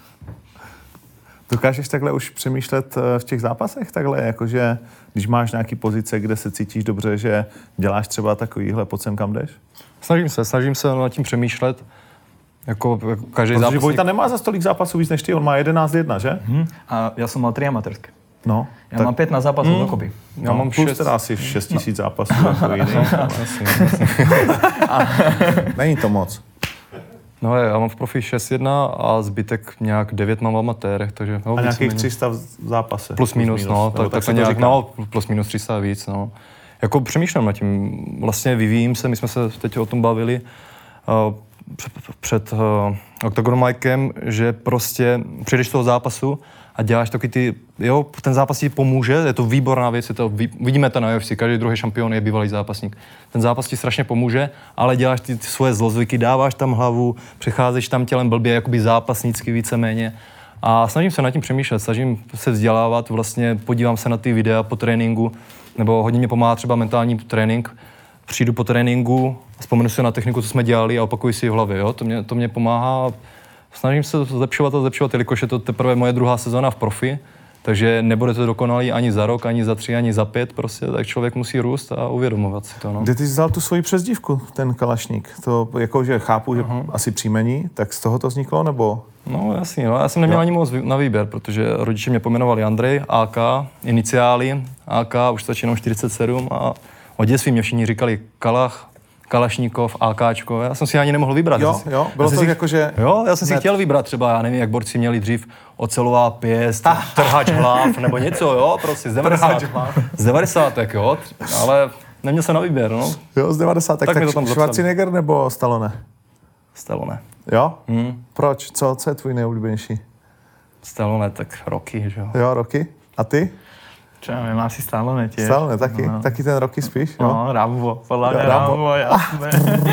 Dokážeš takhle už přemýšlet v těch zápasech takhle, jakože když máš nějaký pozice, kde se cítíš dobře, že děláš třeba takovýhle, pojď sem kam jdeš? Snažím se, snažím se nad tím přemýšlet. Jako, jako každý Protože zápasník... Vojta nemá za stolik zápasů víc než ty, on má jedenáct jedna, že? Hmm. A já jsem mal tři amatérské. No. Já tak... mám pätnásť zápasů hmm. dokopy. Já no, mám plus šest... teda asi šest tisíc no. zápasů jako jiný. Není to moc. No já mám v profi šest jedna a zbytek nějak devět mám v amatérech, takže... No, a nějakých tři sta v zápase? Plus minus, plus minus no, tak, tak, tak nějak, no, plus minus tři sta víc, no. Jako přemýšlím nad tím, vlastně vyvíjím se, my jsme se teď o tom bavili uh, před, před uh, Octagon Mikem, že prostě přijdeš z toho zápasu a děláš taky ty, jo, ten zápas ti pomůže, je to výborná věc, je to, vidíme to na U F C, každý druhý šampion je bývalý zápasník. Ten zápas ti strašně pomůže, ale děláš ty, ty svoje zlozvyky, dáváš tam hlavu, přecházíš tam tělem blbě, jakoby zápasnícky víceméně. A snažím se nad tím přemýšlet, snažím se vzdělávat, vlastně podívám se na ty videa po tréninku, nebo hodně mě pomáhá třeba mentální trénink. Přijdu po tréninku, vzpomenu si na techniku, co jsme dělali a opakuji si v hlavě, jo? To mě, to mě pomáhá. Snažím se zlepšovat a zlepšovat, jelikož je to teprve moje druhá sezóna v profi, takže nebude to dokonalý ani za rok, ani za tři, ani za pět, prostě, tak člověk musí růst a uvědomovat si to. No. Kde ty jsi vzal tu svoji přezdívku, ten Kalašník? To jakože chápu, že uh-huh. asi příjmení, tak z toho to vzniklo, nebo? No jasně, no. Já jsem neměl jo. ani moc na výběr, protože rodiče mě pojmenovali Andrej, A K, iniciály, A K, už stačí jenom čtyřicet sedm a od dětství mě všichni říkali Kalach, Kalašníkov, AKčko, já jsem si ani nemohl vybrat. Jo, si, jo, bylo to si, jako, že... Jo, já jsem si chtěl vybrat třeba, já nevím, jak borci měli dřív ocelová pěst, trhač hlav, nebo něco, jo, prostě z devadesátek, z devadesátek, jo, ale neměl jsem na výběr, no. Jo, z devadesátek, tak, tak, tak Schwarzenegger nebo Stallone? Stallone. Jo? Hmm. Proč? Co, co je tvůj nejoblíbenější? Stallone, tak Rocky, že jo. Jo, Rocky. A ty? Čo ja viem, asi Stallone tiež. Stallone, taky? No. Taky ten Rocky spíš? Jo? No, Rambo, podľa mňa Rambo, Rambo jasné.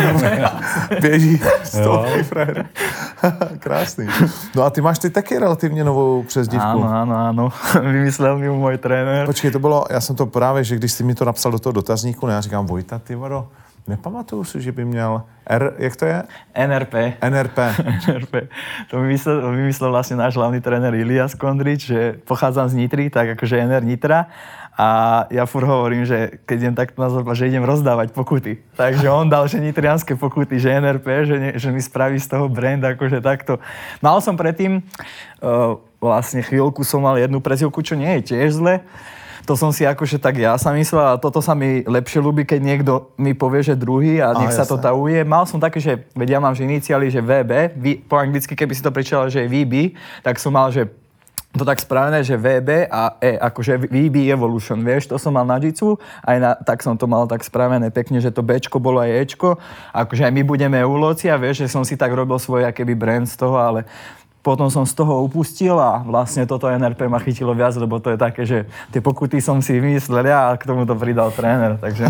Běží stovky frajer. Krásný. No a ty máš ty taky relativně novou přezdívku. Áno, áno, áno. Vymyslel mi můj trenér. Počkej, to bylo, já jsem to právě, že když jsi mi to napsal do toho dotazníku, já říkám, Vojta, ty vado, nepamatuju si, že by měl R, jak to je? N R P. N R P. N R P. To vymyslel, vymyslel vlastne náš hlavný tréner Ilias Kondrič, že pochádzam z Nitry, tak akože N R Nitra. A ja furt hovorím, že keď idem takto na zápas, že idem rozdávať pokuty. Takže on dal, že nitrianské pokuty, že N R P, že, ne, že mi spraví z toho brand, akože takto. Mal som predtým, uh, vlastne chvíľku som mal jednu prezivku, čo nie je tiež zle. To som si akože tak ja sa myslel a toto sa mi lepšie ľúbi, keď niekto mi povie, že druhý a nech a, sa jasné. To tauje. Mal som také, že veď ja mám že iniciály, že V B, v, po anglicky, keby si to prečítal, že je V B, tak som mal, že to tak spravené, že V B a E, akože V B Evolution, vieš, to som mal na Jitsu, aj na, tak som to mal tak spravené pekne, že to Bčko bolo aj Ečko, akože aj my budeme Euloci a vieš, že som si tak robil svoj akéby brand z toho, ale potom som z toho upustil a vlastne toto N R P ma chytilo viac, lebo to je také, že tie pokuty som si vymyslel ja a k tomu to pridal tréner, takže...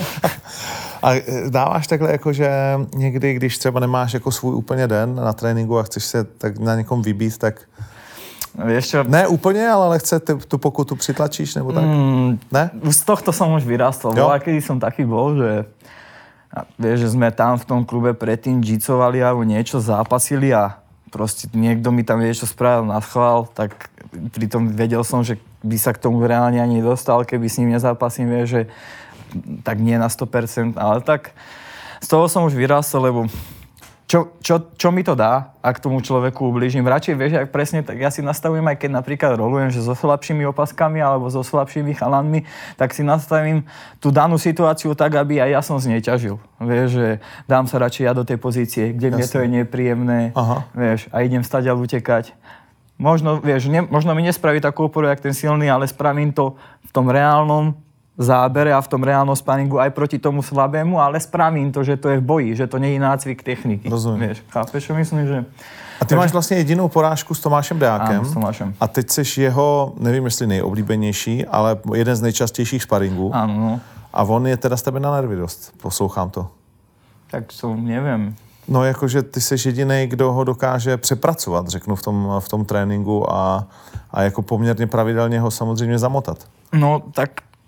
A dáváš takhle jako, že někdy, když třeba nemáš jako svůj úplně den na tréninku a chceš se tak na někom vybít, tak... Vieš čo? Ne úplně, ale lehce tu pokutu přitlačíš, nebo tak? Mm, ne? Z tohto som už vyrástol. Bola, kedy som taký bol, že... A vieš, že sme tam v tom klube predtým jitsovali alebo niečo, zápasili a proste niekto mi tam niečo spravil na schvál, tak pritom vedel som, že by sa k tomu reálne ani nedostal, keby s ním nezápasím, vieš, že tak nie na sto percent, ale tak z toho som už vyrástol, lebo čo, čo, čo mi to dá, ak tomu človeku ublížim. Radšej, vieš, ak presne, tak ja si nastavujem, aj keď napríklad rolujem, že so slabšími opaskami alebo so slabšími chalanmi, tak si nastavím tú danú situáciu tak, aby aj ja som z nej ťažil. Vieš, že dám sa radšej ja do tej pozície, kde Jasne. Mne to je nepríjemné, Aha. vieš, a idem stadiaľ utekať. Možno, vieš, ne, možno mi nespraví takú oporu, jak ten silný, ale spravím to v tom reálnom zábere a v tom reálnom sparingu aj proti tomu slabému, ale spravím to, že to je v boji, že to nie je nácvik techniky. Rozumím. Vieš, chápeš, čo myslím, že... A ty Takže... máš vlastně jedinou porážku s Tomášem Deákem. Áno, s Tomášem. A teď seš jeho, nevím jestli nejoblíbenější, ale jeden z nejčastějších sparingů. Áno, no. A on je teda z tebe na nervy dost, poslouchám to. Tak to nevím. No jakože ty seš jedinej, kdo ho dokáže přepracovat, řeknu v tom, v tom tréninku a, a jako poměrně pravidelně ho samozřejmě zamotat. No tak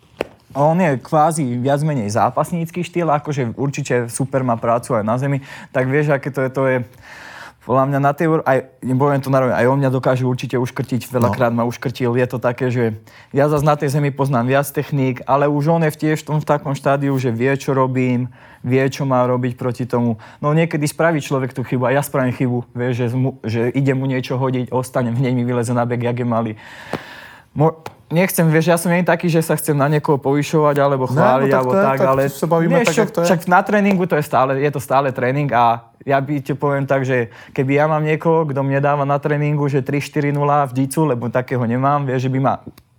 on je kvázi viac menej zápasnícky štýl, akože určite super má prácu aj na zemi, tak vieš, aké to je, to je podľa mňa na tej, aj, nebudem to naroveň, aj on mňa dokáže určite uškrtiť, veľakrát no. ma uškrtil, je to také, že ja zase na tej zemi poznám viac techník, ale už on je tiež v tom v takom štádiu, že vie, čo robím, vie, čo má robiť proti tomu. No niekedy spraví človek tú chybu a ja spravím chybu, vieš, že, že ide mu niečo hodiť, ostanem, hneď mi vyleze na bek, jak je malý. Mo- Nechcem, vieš, ja som nie taký, že sa chcem na niekoho povyšovať alebo chváliť, no, alebo tak, tak, tak ale sa bavíme nie, tak, čo, jak to je. Však na tréningu to je stále, je to stále tréning a ja by ti poviem tak, že keby ja mám niekoho, kto mne dáva na tréningu, že tri štyri nula v jitsu, lebo takého nemám, vieš, že by ma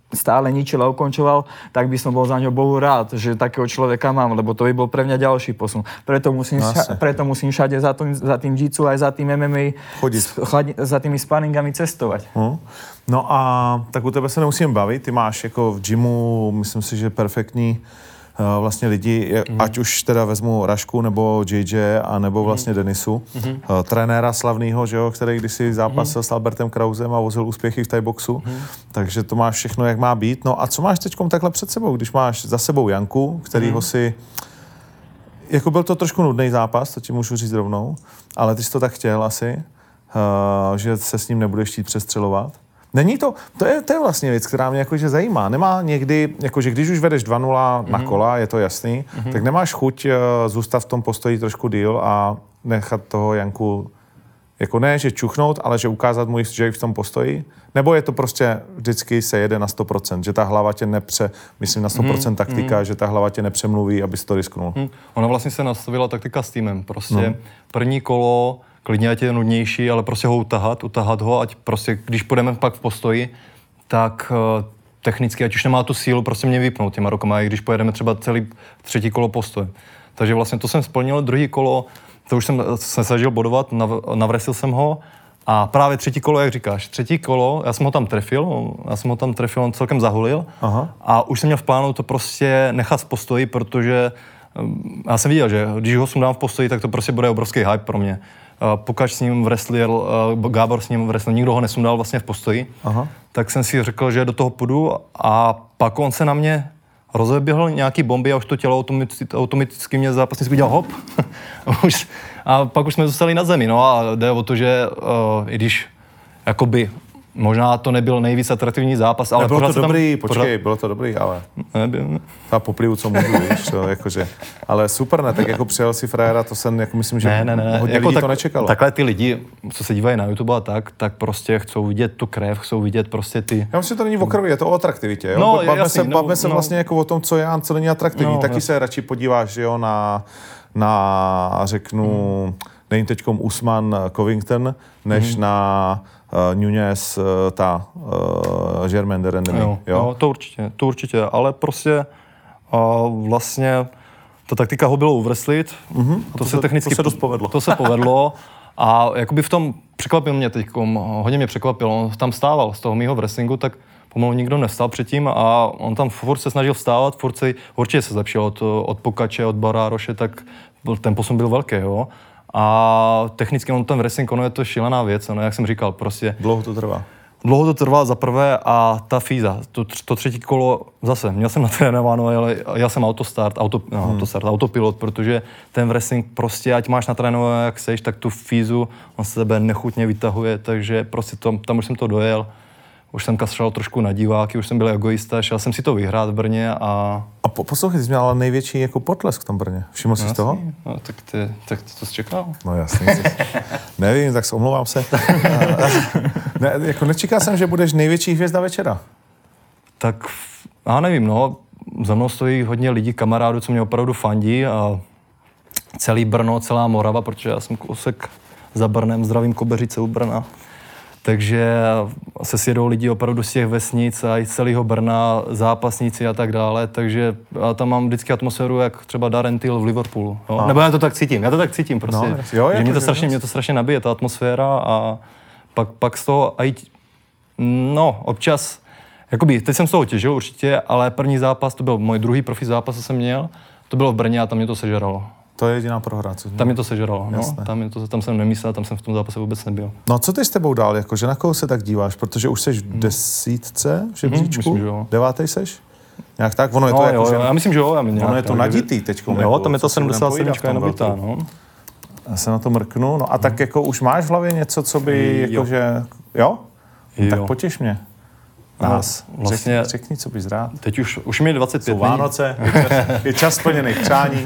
stále ničil a ukončoval, tak by som bol za ňo Bohu rád, že takého človeka mám, lebo to by bol pre mňa ďalší posun. Preto musím, no, ša- preto musím všade za tým, za tým jitsu aj za tým em em á chodit. Chladi, za tými sparingami cestovať. Hmm. No a tak u tebe se nemusím bavit, ty máš jako v gymu, myslím si, že perfektní uh, vlastně lidi, mm. ať už teda vezmu Rašku nebo J J a nebo vlastně mm. Denisu, mm. uh, trenéra slavného, že jo, který kdysi zápasil mm. s Albertem Krausem a vozil úspěchy v thaiboxu, mm. takže to máš všechno, jak má být. No a co máš teďkom takhle před sebou, když máš za sebou Janku, kterýho mm. si, jako byl to trošku nudný zápas, to ti můžu říct rovnou, ale ty jsi to tak chtěl asi, uh, že se s ním nebudeš chtít přestřelovat. Není to, to je, to je vlastně věc, která mě jakože zajímá. Nemá někdy, jakože když už vedeš dva nula mm-hmm. na kola, je to jasný, mm-hmm. tak nemáš chuť uh, zůstat v tom postoji trošku díl a nechat toho Janku, jako ne, že čuchnout, ale že ukázat mu, že je v tom postoji? Nebo je to prostě vždycky se jede na sto procent, že ta hlava tě nepře, myslím na sto procent mm-hmm. taktika, mm-hmm. že ta hlava tě nepřemluví, abys to risknul? Mm. Ona vlastně se nastavila taktika s týmem. Prostě no. první kolo klidně ať je nudnější, ale prostě ho utahat, utahat ho, ať prostě, když půjdeme pak v postoji, tak uh, technicky, ať už nemá tu sílu, prostě mě vypnout těma rukama, i když pojedeme třeba celý třetí kolo postoj. Takže vlastně to jsem splnil, druhý kolo, to už jsem se snažil bodovat, nav, navresil jsem ho a právě třetí kolo, jak říkáš, třetí kolo, já jsem ho tam trefil, já jsem ho tam trefil, on celkem zahulil. Aha. A už jsem měl v plánu to prostě nechat v postoji, protože um, já jsem viděl, že když ho sundám v postoji, tak to prostě bude obrovský hype pro mě. Pukač s ním wrestlil, Gábor s ním wrestlil, nikdo ho nesundal vlastně v postoji, aha. tak jsem si řekl, že do toho půjdu a pak on se na mě rozeběhl nějaký bomby a už to tělo automaticky, automaticky mě zápasník udělal hop a pak už jsme zůstali na zemi, no a jde o to, že uh, i když jakoby možná to nebyl nejvíc atraktivní zápas, ale bylo pořád to dobrý, tam, počkej, pořád... bylo to dobrý, ale nebyl. Ta poplivu, co můžu, víš, to, jakože, ale super, ne, tak jako přijel si frajera, to jsem, jako myslím, že ne, ne, ne. hodně jako lidí tak, to nečekalo. Takhle ty lidi, co se dívají na YouTube a tak, tak prostě chcou vidět tu krev, chcou vidět prostě ty... Já myslím, že to není o krvi, je to o atraktivitě, jo? No, bavme jasný, se, no, bavme se no. vlastně jako o tom, co je a co není atraktivní, no, taky jasný. se radši podíváš, jo, na, na řeknu, hmm. není teďkom Usman Covington, než hmm. na uh, Nunes, uh, ta uh, Germaine de Randamie, jo, jo? jo? To určitě, to určitě, ale prostě uh, vlastně ta taktika ho bylo uvrslit, mm-hmm. to, to se technicky... To se dost povedlo. To se povedlo a jakoby v tom překvapil mě teďkom, hodně mě překvapil, on tam stával z toho mýho wrestlingu, tak pomalu nikdo nevstal předtím a on tam furt se snažil vstávat, furt se, určitě se zlepšil od, od Pukače, od Barároše, tak ten posun byl velký, jo. A technicky on ten wrestling, ono je to šílená věc, no, jak jsem říkal, prostě... Dlouho to trvá. Dlouho to trvá za prvé a ta fíza, to, to třetí kolo zase, měl jsem natrénováno, ale já jsem autostart, auto, no, hmm. autostart, autopilot, protože ten wrestling prostě, ať máš natrénované jak seš, tak tu fízu on se sebe nechutně vytahuje, takže prostě to, tam už jsem to dojel. Už jsem kašlal trošku na diváky, už jsem byl egoista, šel jsem si to vyhrát v Brně a... A po, poslouchej, jsi měl ale největší jako potlesk v tom Brně. Všiml jsi no, z toho? No, tak, ty, tak to jsi čekal? No jasně. Nevím, tak se omlouvám se. ne, jako nečekal jsem, že budeš největší hvězda večera. Tak já nevím, no. Za mnou stojí hodně lidí, kamarádů, co mě opravdu fandí a celý Brno, celá Morava, protože já jsem kousek za Brnem, zdravím Kobeřice u Brna. Takže se sjedou lidi opravdu z těch vesnic a i z celého Brna, zápasníci a tak dále, takže já tam mám vždycky atmosféru, jak třeba Darren Till v Liverpoolu. Jo? Nebo já to tak cítím, já to tak cítím prostě, no, jo, že mě to, strašně, mě to strašně nabije, ta atmosféra a pak, pak z toho, aj, no občas, jakoby, teď jsem z toho těžil určitě, ale první zápas, to byl můj druhý profi zápas, co jsem měl, to bylo v Brně a tam mě to sežralo. To je jediná prohra, co Tam mě to sežralo, no. Tam, mě to, tam jsem nemyslel, tam jsem v tom zápase vůbec nebyl. No a co ty s tebou dál, jakože na koho se tak díváš? Protože už seš v desítce v žebříčku, hmm, devátej seš? Nějak tak? Ono je to no, jako, jo, že... Já myslím, že jo. Já ono je to naditý teďko. Jo, jako, tam je to sedmdesát sedm je nabitá, no. Já se na to mrknu, no a hmm. tak jako už máš v hlavě něco, co by, jakože, jo? jo? Tak potěš mě. Nás. No, vlastně, řekni, řekni, co bys rád. Teď už, už mi je dvacet pět. Jsou Vánoce, je čas, je čas splněných přání.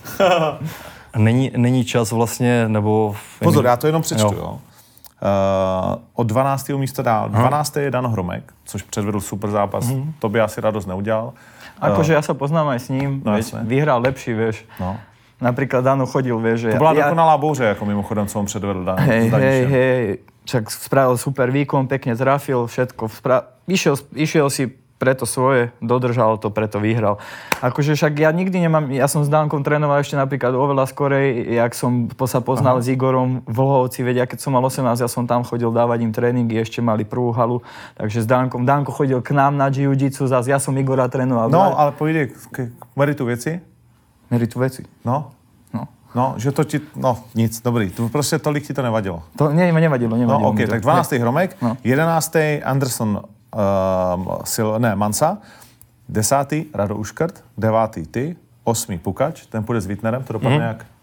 Není, není čas vlastně, nebo... Pozor, já to jenom přečtu, jo. jo. Uh, od dvanáctého místa dál. dvanáctý je Dan Hromek, což předvedl super zápas. Mm. To by asi radost neudělal. Akože ja sa poznám aj s ním, no, veď, vyhral lepší, vieš. No. Napríklad Dano chodil, vieš, že... To byla ja, dokonalá bouře, jako mimochodem, co on předvedl Dan. Hej, hej, hej, však spravil super výkon, pekne trafil, všetko. Spra- išiel, išiel si preto svoje dodržal to, preto vyhral. Akože však ja nikdy nemám, ja som s Dankom trénoval ešte napríklad oveľa skorej, jak som sa poznal Aha. s Igorom v Lhovci, veď ja keď som mal osemnásť, ja som tam chodil dávať im tréningy, ešte mali prvú halu, takže s Dankom, Danko chodil k nám na jiu-jitsu, zase ja som Igora trénoval. No, ale pojde k meritu věci. Meritu věci? No. No. No, že to ti, no nic, dobrý, to prostě tolik ti to nevadilo. To ne, nevadilo, nevadilo. No, ok, tak dvanáctý Hromek, no. jedenáctý Anderson uh, Sil, ne, Mansa, desátý Rado Uškrt, devátý ty, osmý Pukač, ten půjde s Wittnerem, to dopadne mm-hmm. jak?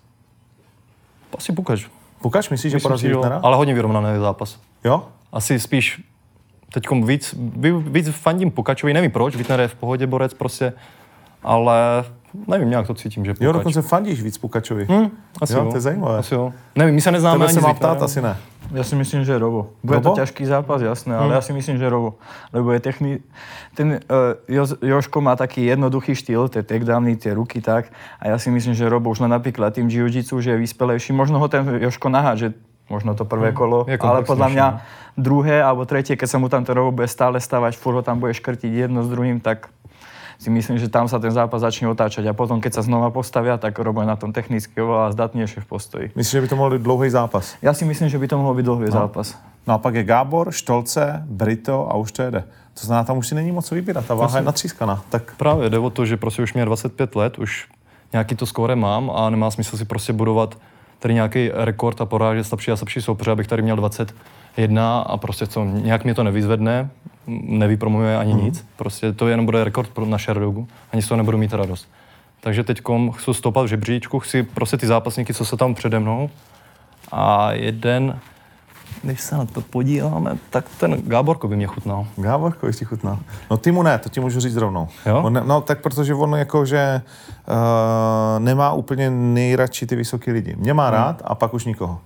Asi Pukač. Pukač, myslíš, že porazí Wittnera? Ale hodně vyrovnaný zápas. Jo? Asi spíš teďkom víc, víc fandím Pukačovi, nevím proč, Wittner je v pohodě borec prostě, ale nevím, nějak to cítím, že Pukač. Jo, dokonce fandíš víc Pukačovi. Hmm, asi jo, jo, to je zajímavé. Asi jo. Nevím, my se neznáme Tebe ani se s má Wittnerem. ptát, asi ne. Ja si myslím, že Robo. Bude Robo? to ťažký zápas, jasné, ale Hmm. ja si myslím, že Robo. Lebo je techni... Ten uh, jo, Joško má taký jednoduchý štýl, tie takedowny, tie ruky tak. A ja si myslím, že Robo už len napríklad tým jiu-jitsu, že je vyspelejší. Možno ho ten Joško naháže, možno to prvé kolo, ale podľa mňa druhé alebo tretie, keď sa mu tam to Robo bude stále stavať, furt ho tam bude škrtiť jedno s druhým, tak si myslím, že tam sa ten zápas začne otáčať a potom, keď sa znova postavia, tak Robo je na tom technicky oveľa zdatnejšie v postoji. Myslíš, že by to mohl být dlouhý zápas? Ja si myslím, že by to mohol byť dlhý no. zápas. No a pak je Gábor, Štolce, Brito a už to jede. To znamená, tam už si není moc co vybírat, ta váha je natřískaná. Tak... Právě jde o to, že prostě už mě dvacet pět let, už nějaký to skóre mám a nemá smysl si prostě budovat tady nějaký rekord a porážet slabší a slabší soupeře, abych tady měl dvacet jedna a prostě co, nějak mě to nevyzvedne, nevypromuje ani mm. nic. Prostě to jenom bude rekord na Sherdogu, ani z toho nebudu mít radost. Takže teďkom chci stopat v žebříčku, chci prostě ty zápasníky, co se tam přede mnou. A jeden, když se na to podíváme, tak ten Gáborko by mě chutnal. Gáborko by ti chutnal. No ty mu ne, to ti můžu říct rovnou. Jo? On ne, no tak protože on jako, že uh, nemá úplně nejradši ty vysoký lidi. Mě má rád a pak už nikoho.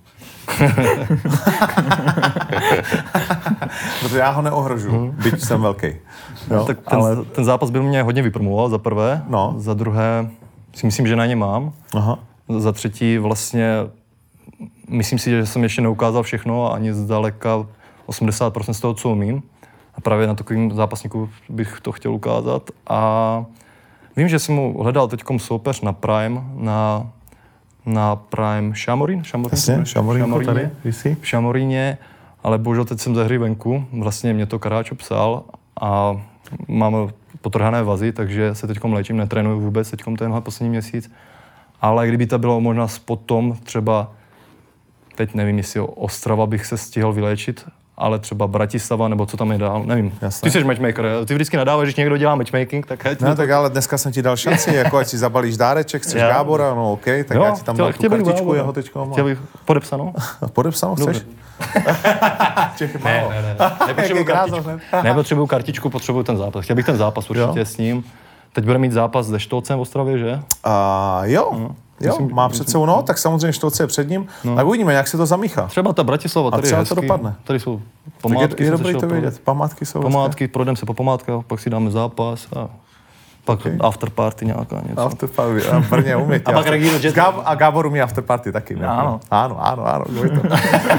Protože já ho neohrožuju, hmm. byť jsem velký. No, tak ten, ale... ten zápas by mě hodně vypromoval, za prvé. No. Za druhé si myslím, že na ně mám. Aha. Za třetí vlastně myslím si, že jsem ještě neukázal všechno a ani zdaleka osmdesát procent z toho, co umím. A právě na takovým zápasníku bych to chtěl ukázat. A vím, že jsem mu hledal teďkom soupeř na Prime, na na Prime Šamorín? Jasně, Šamorín tady, v Šamoríně, ale bohužel teď jsem ze hry venku, vlastně mě to Karáčo psal a mám potrhané vazy, takže se teďkom léčím, netrénuju vůbec teďkom tenhle poslední měsíc, ale kdyby to bylo možná potom třeba, teď nevím, jestli Ostrava bych se stihl vyléčit, ale třeba Bratislava, nebo co tam je dál, nevím. Jasne. Ty jsi matchmaker, ty vždycky nadáváš, když někdo dělá matchmaking, tak ať... No tak ale dneska jsem ti dal šanci, jako ať si zabalíš dáreček, chceš ja. Gábora, no OK, tak jo, já ti tam dal tu kartičku jeho teďko. Chtěl bych podepsanou? Podepsanou chceš? ne, ne, ne. Nepotřebuju kartičku. Nepotřebuju kartičku, potřebuju ten zápas. Chtěl bych ten zápas určitě jo. s ním. Teď bude mít zápas se Štolcem v Ostravě, že? Uh, jo. No. Jo, myslím, má před sebou, no, tak samozřejmě Štolce je před ním. No. Tak uvidíme, jak se to zamíchá. Třeba ta Bratislava, tady je hezký. To dopadne. Tady jsou památky. Je, je dobrý to vidět, památky jsou Památky, projdeme se po památkách, pak si dáme zápas a pak okay. afterparty nějaká něco. Afterparty, a v Brně umí. A pak Regino Jet. Gáb, a Gábor umí afterparty taky. Ano. Ano, ano, ano. To.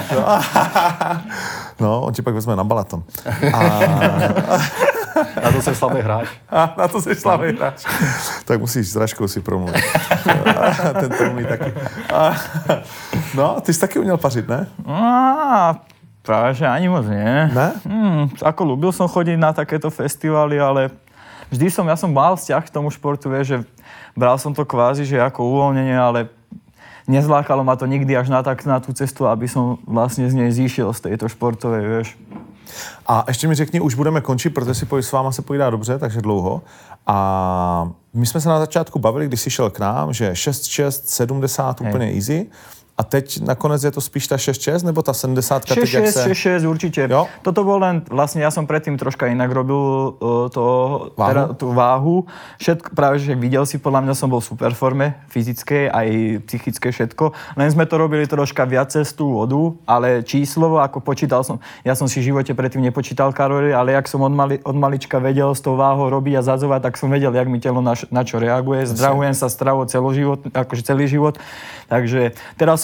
No, on ti pak vezme na balaton. A... Na to jsem slabý hráč. A na to jsi slabý hráč. Tak musíš s Raškou si promluvit. Ten to umí taky. A... No, ty jsi taky uměl pařit, ne? No, práve, že ani moc nie. Ne? Hmm, ako ľúbil som chodiť na takéto festivaly, ale vždy som, ja som mal vzťah k tomu športu, vieš, že bral som to kvázi, že ako uvoľnenie, ale nezlákalo ma to nikdy až na, tak, na tú cestu, aby som vlastne z nej zíšiel z tejto športovej, vieš. A ještě mi řekni, už budeme končit, protože si s váma se pojídá dobře, takže dlouho. A my jsme se na začátku bavili, když jsi šel k nám, že šest šest sedmdesát úplně Hej. easy. A teď nakonec je to spíš ta šesť šesť, nebo ta sedemdesát teď, jak se... šesť šesť určite. Jo? Toto bol len, vlastne ja som predtým troška inak robil uh, to, váhu? Teda, tú váhu. Všetko, práve, že videl si, podľa mňa som bol v super forme, fyzickej aj psychickej všetko. Len sme to robili troška viac cez tú vodu, ale číslovo, ako počítal som, ja som si v živote predtým nepočítal kalórie, ale jak som od, mali, od malička vedel s tou váhou robiť a zadzovať, tak som vedel, jak mi telo na, na čo reaguje. Zdravujem sa stravo celoživot, akože celý život. Takže teraz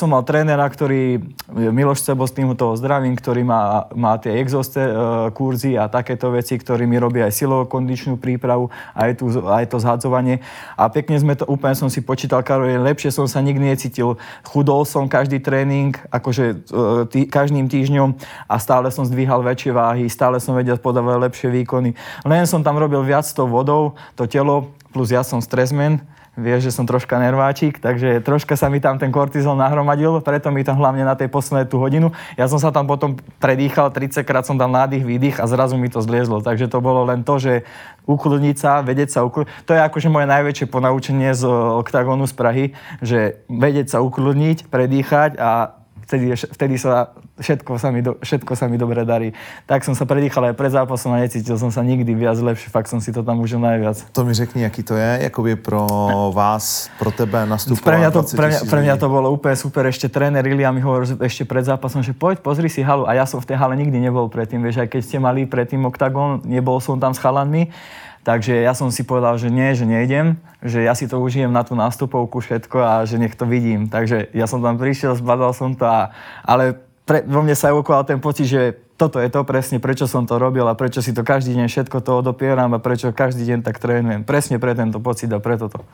som mal trénera, ktorý, Miloš Cebo, s tým toho zdravím, ktorý má, má tie exoste uh, kurzy a takéto veci, ktorý mi robí aj silovo-kondičnú prípravu, aj, tu, aj to zhadzovanie. A pekne sme to, úplne som si počítal, Karol, lepšie som sa nikdy necítil. Chudol som každý tréning, akože uh, tý, každým týždňom a stále som zdvíhal väčšie váhy, stále som vedel podávať lepšie výkony. Len som tam robil viac s tou vodou, to telo, plus ja som stresman. Vieš, že som troška nerváčik, takže troška sa mi tam ten kortizol nahromadil, preto mi tam hlavne na tej poslednej tú hodinu. Ja som sa tam potom predýchal, tridsaťkrát som dal nádych, výdych a zrazu mi to zliezlo. Takže to bolo len to, že ukludniť sa, vedieť sa ukludniť. To je akože moje najväčšie ponaučenie z Oktagonu z Prahy, že vedieť sa ukludniť, predýchať a vtedy, vtedy sa všetko sa, mi do, všetko sa mi dobre darí. Tak som sa predýchal aj pred zápasom a necítil som sa nikdy viac lepšie. Fakt som si to tam užil najviac. To mi řekni, jaký to je, jakoby pro vás, pro tebe nastupovat. Pre mňa to, pre mňa, pre mňa to bolo úplne super. Ešte tréner Ilia mi hovoril ešte pred zápasom, že poď, pozri si halu. A ja som v tej hale nikdy nebol predtým. Vieš, aj keď ste mali predtým Oktagon, nebol som tam s chalanmi. Takže ja som si povedal, že nie, že nejdem, že ja si to užijem na tú nástupovku všetko a že nech to vidím. Takže ja som tam prišiel, zbadal som to, a, ale pre, vo mne sa evokoval ten pocit, že toto je to presne, prečo som to robil a prečo si to každý deň všetko to odopieram a prečo každý deň tak trénujem. Presne pre tento pocit a preto to.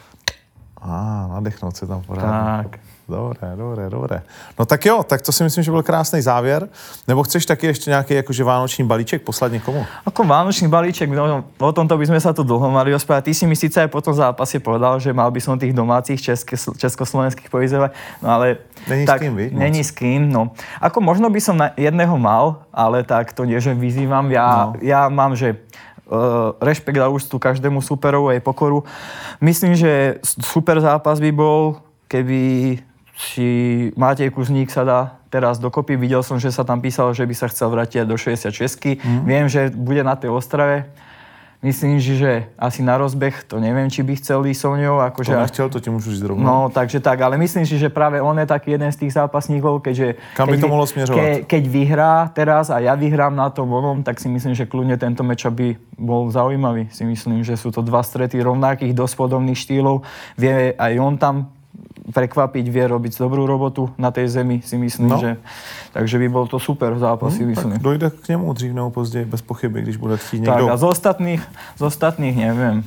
Á, nadechnout se tam pořádně. Tak. Dobré, dobré, dobré. No tak jo, tak to si myslím, že byl krásný závěr. Nebo chceš taky ještě nějaký jakože vánoční balíček poslat někomu? Ako vánočný balíček, no, o tomto by sme sa tu dlho mali rozprávať. Ty si mi síce aj po tom zápase povedal, že mal by som tých domácich české, československých povyzovať, no ale... Není tak, s kým, víš? Není s kým, no. Ako možno by som na jedného mal, ale tak to nie, že vyzývam. Ja, no. ja mám, že Uh, rešpekt a úctu každému superovu aj pokoru. Myslím, že super zápas by bol, keby si Matej Kuzník sa dá teraz dokopy. Videl som, že sa tam písalo, že by sa chcel vrátiť do šesťdesiatšesť. Mm. Viem, že bude na tej Ostrave. Myslím, že asi na rozbeh, to neviem, či by chcel ísť so mňou. Akože, to nechcel, to ti môžu ísť rovno. No, takže tak, ale myslím si, že práve on je taký jeden z tých zápasníkov, keďže... Kam by keď, to mohlo směřovat? Ke, keď vyhrá teraz a ja vyhrám na tom onom, tak si myslím, že kľudne tento matchup by bol zaujímavý. Si myslím, že sú to dva strety rovnakých, dosť podobných štýlov. Vie aj on tam prekvapiť, vie robiť dobrú robotu na tej zemi, si myslím, no. že... Takže by bol to super zápas, si hmm, myslím. Tak dojde k němu dřív nebo později, bez pochyby, když bude chtít někdo. Tak a z ostatných, z ostatných neviem.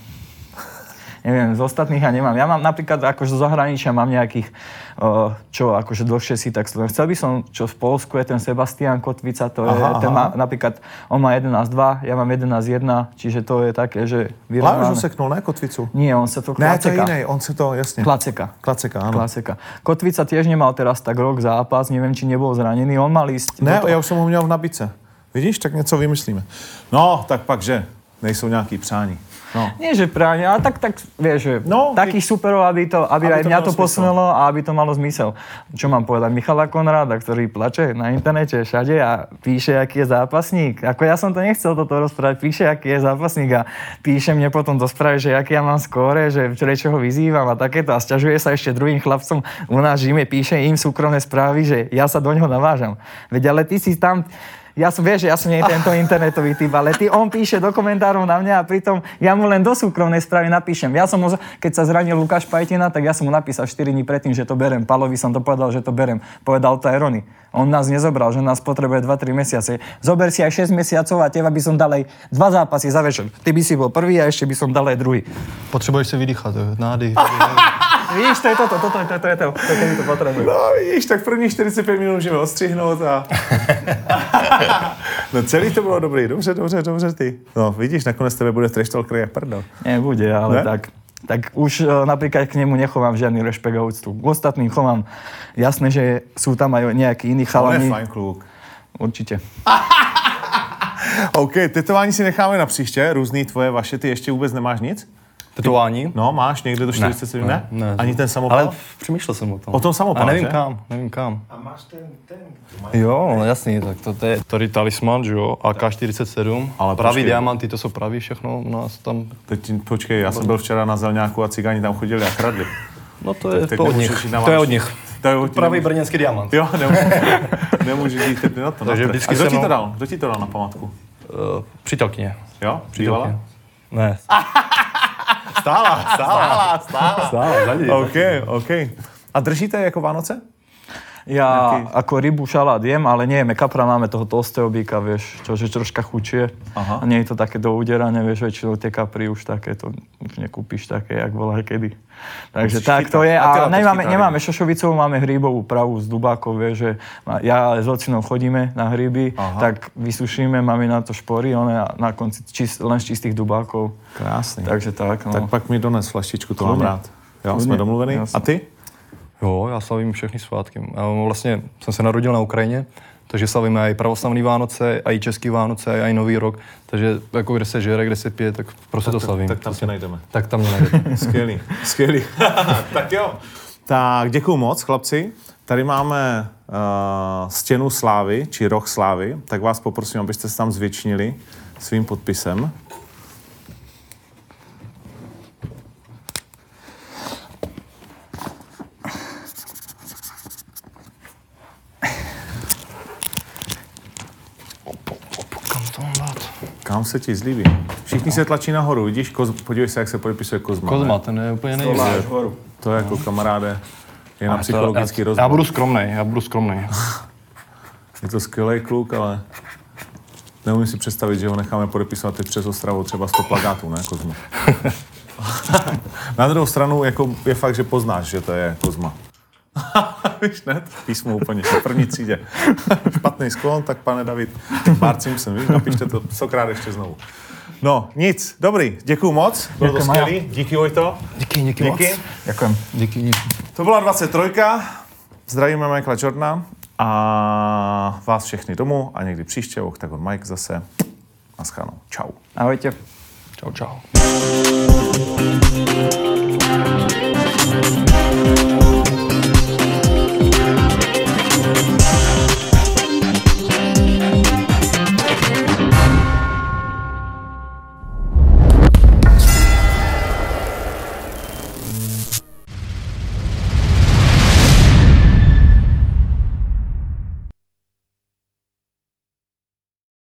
Neviem, z ostatných ja nemám. Ja mám napríklad akože zo zahraničia mám nejakých, uh, čo akože dlhšie si tak sledujem. Chcel by som, čo v Poľsku je ten Sebastian Kotvica, to je, aha, ten má napríklad, on má jedenásť dva, ja mám jedenásť jedna, čiže to je také, že vyrovnáme. Lážu seknul, ne Kotvicu? Nie, on sa to Klaceka. Ne, to je inej, on sa to, jasne. Klaceka. Klaceka, áno. Klaceka. Kotvica tiež nemal teraz tak rok zápas, neviem, či nebol zranený, on mal ísť... Ne, ja už som ho měl v nabídce. Vidíš, tak něco vymyslíme. No, tak pak, že nejsou nějaký přání. No. Nie, že práve, ale tak, tak vieš, že no, takých superov, aby, to, aby, aby aj mňa to posunulo a aby to malo zmysel. Čo mám povedať? Michala Konráda, ktorý plače na internete všade a píše, aký je zápasník. Ako ja som to nechcel toto rozprávať, píše, aký je zápasník a píše mne potom do správy, že aký ja mám skóre, že prečo ho vyzývam a takéto. A sťažuje sa ešte druhým chlapcom u nás v Žime, píše im súkromné správy, že ja sa do ňoho navážam. Veď ale ty si tam... Ja som, vieš, že ja som nie tento internetový typ, ale ty, on píše do komentárov na mňa a pritom ja mu len do súkromnej správy napíšem. Ja som mu, keď sa zranil Lukáš Pajtina, tak ja som mu napísal štyri dní predtým, že to berem. Palovi som to povedal, že to berem. Povedal to aj Rony. On nás nezobral, že nás potrebuje dva tri mesiace. Zober si aj šesť mesiacov a teba by som dal aj dva zápasy za večer. Ty by si bol prvý a ešte by som dal aj druhý. Potrebuješ si vydýchať, nádych. Víš, to je toto, toto, toto, toto je to, to, to, to potrebujem. No vidíš, tak první čtyřicet pět minut můžeme odstřihnout a... No celý to bylo dobrý, dobře, dobře, dobře ty. No vidíš, nakonec tebe bude trash talker jak prdel. Nebude, ale ne? tak... Tak už uh, napríklad k nemu nechovám žiadny rešpekt a úctu. K ostatným chovám. Jasné, že sú tam aj nejakí iní chalani. On je fajn kluk. Určitě. OK, tetování si necháme na příště, různý tvoje, vaše, ty ještě vůbec nemáš nic? Tetování? No, máš někde do čtyřicet sedm, ne? ne? ne Ani ten samopal? Ale přemýšlel jsem o tom. O tom samopal, a nevím že? kam, nevím kam. A máš ten, ten... Jo, no jasný, tak to, to je tady talisman, že jo, A K čtyřicet sedm, ale pravý počkej. diamanty, to jsou pravý všechno u nás tam. Teď počkej, já jsem byl včera na Zelňáku a cigáni tam chodili a kradli. No to je tak, to od nich, to je od nich. To je od pravý brněnský diamant. Jo, nemůžu jít teď na to. Takže na vždycky a kdo ti mnou... to dal? Kdo ti to dal na památku? Uh, přítelkyně. Jo? Přítelkyně? Ne. Stála, stála, stála. Stála, za ní. OK, OK. A držíte jako Vánoce? Ja Nejaký... ako rybu, šalát jem, ale nejeme kapra, máme toho tlstého býka, vieš, čo je troška chučie. Aha. A nie je to také do udierania, vieš, väčšinou tie kapry už také, to už nekúpiš také, jak bola kedy. Takže Musíš tak chytať. to je. A A teda to nemáme, chytá nemáme šošovicovú, máme hríbovú pravu z dubákov, vieš, že ja s ocinou chodíme na hríby, Aha. tak vysušíme, máme na to špory, one a na konci čist, len z čistých dubákov. Krásný. Takže tak, no. Tak pak mi dones flaštičku, to mám Kludně. rád. Jo, Kludně, jsme domluvení. jasně. A ty? Jo, já slavím všechny svátky. Já vlastně jsem se narodil na Ukrajině, takže slavíme i pravoslavný Vánoce, i český Vánoce, i Nový rok. Takže jako kde se žere, kde se pije, tak prostě to slavím. Tak tam tě najdeme. Tak tam mě najdete. Skvělý, skvělý. Tak jo. Tak děkuju moc, chlapci. Tady máme uh, stěnu slávy, či roh slávy. Tak vás poprosím, abyste se tam zvětšnili svým podpisem. Kam to mám dát? Kam se ti zlíbí? Všichni se tlačí nahoru, vidíš? Koz, podívej se, jak se podepisuje Kozma. Kozma, ne? ten je úplně nejvíc. To je jako kamaráde, je na A to- psychologický já, rozbor. já budu skromnej, já budu skromnej. Je to skvělý kluk, ale neumím si představit, že ho necháme podepisovat teď přes Ostravu třeba sto plakátů, ne, Kozma? Na druhou stranu jako je fakt, že poznáš, že to je Kozma. Víš, ne? Písmo úplně v první třídě. Špatný sklon, tak pane David, Bart Simpson, víš, napište to stokrát ještě znovu. No, nic, dobrý, děkuju moc, bylo to Děkuji, Maja. skvělý, díky Vojto. Díky, díky, Díky. moc. Ďakujem. Díky, díky. To byla dvacet tři, zdravíme Michaela Jordana a vás všechny domů a někdy příště Octagon Mike zase. Naschledanou, čau. Ahojte. Čau, čau.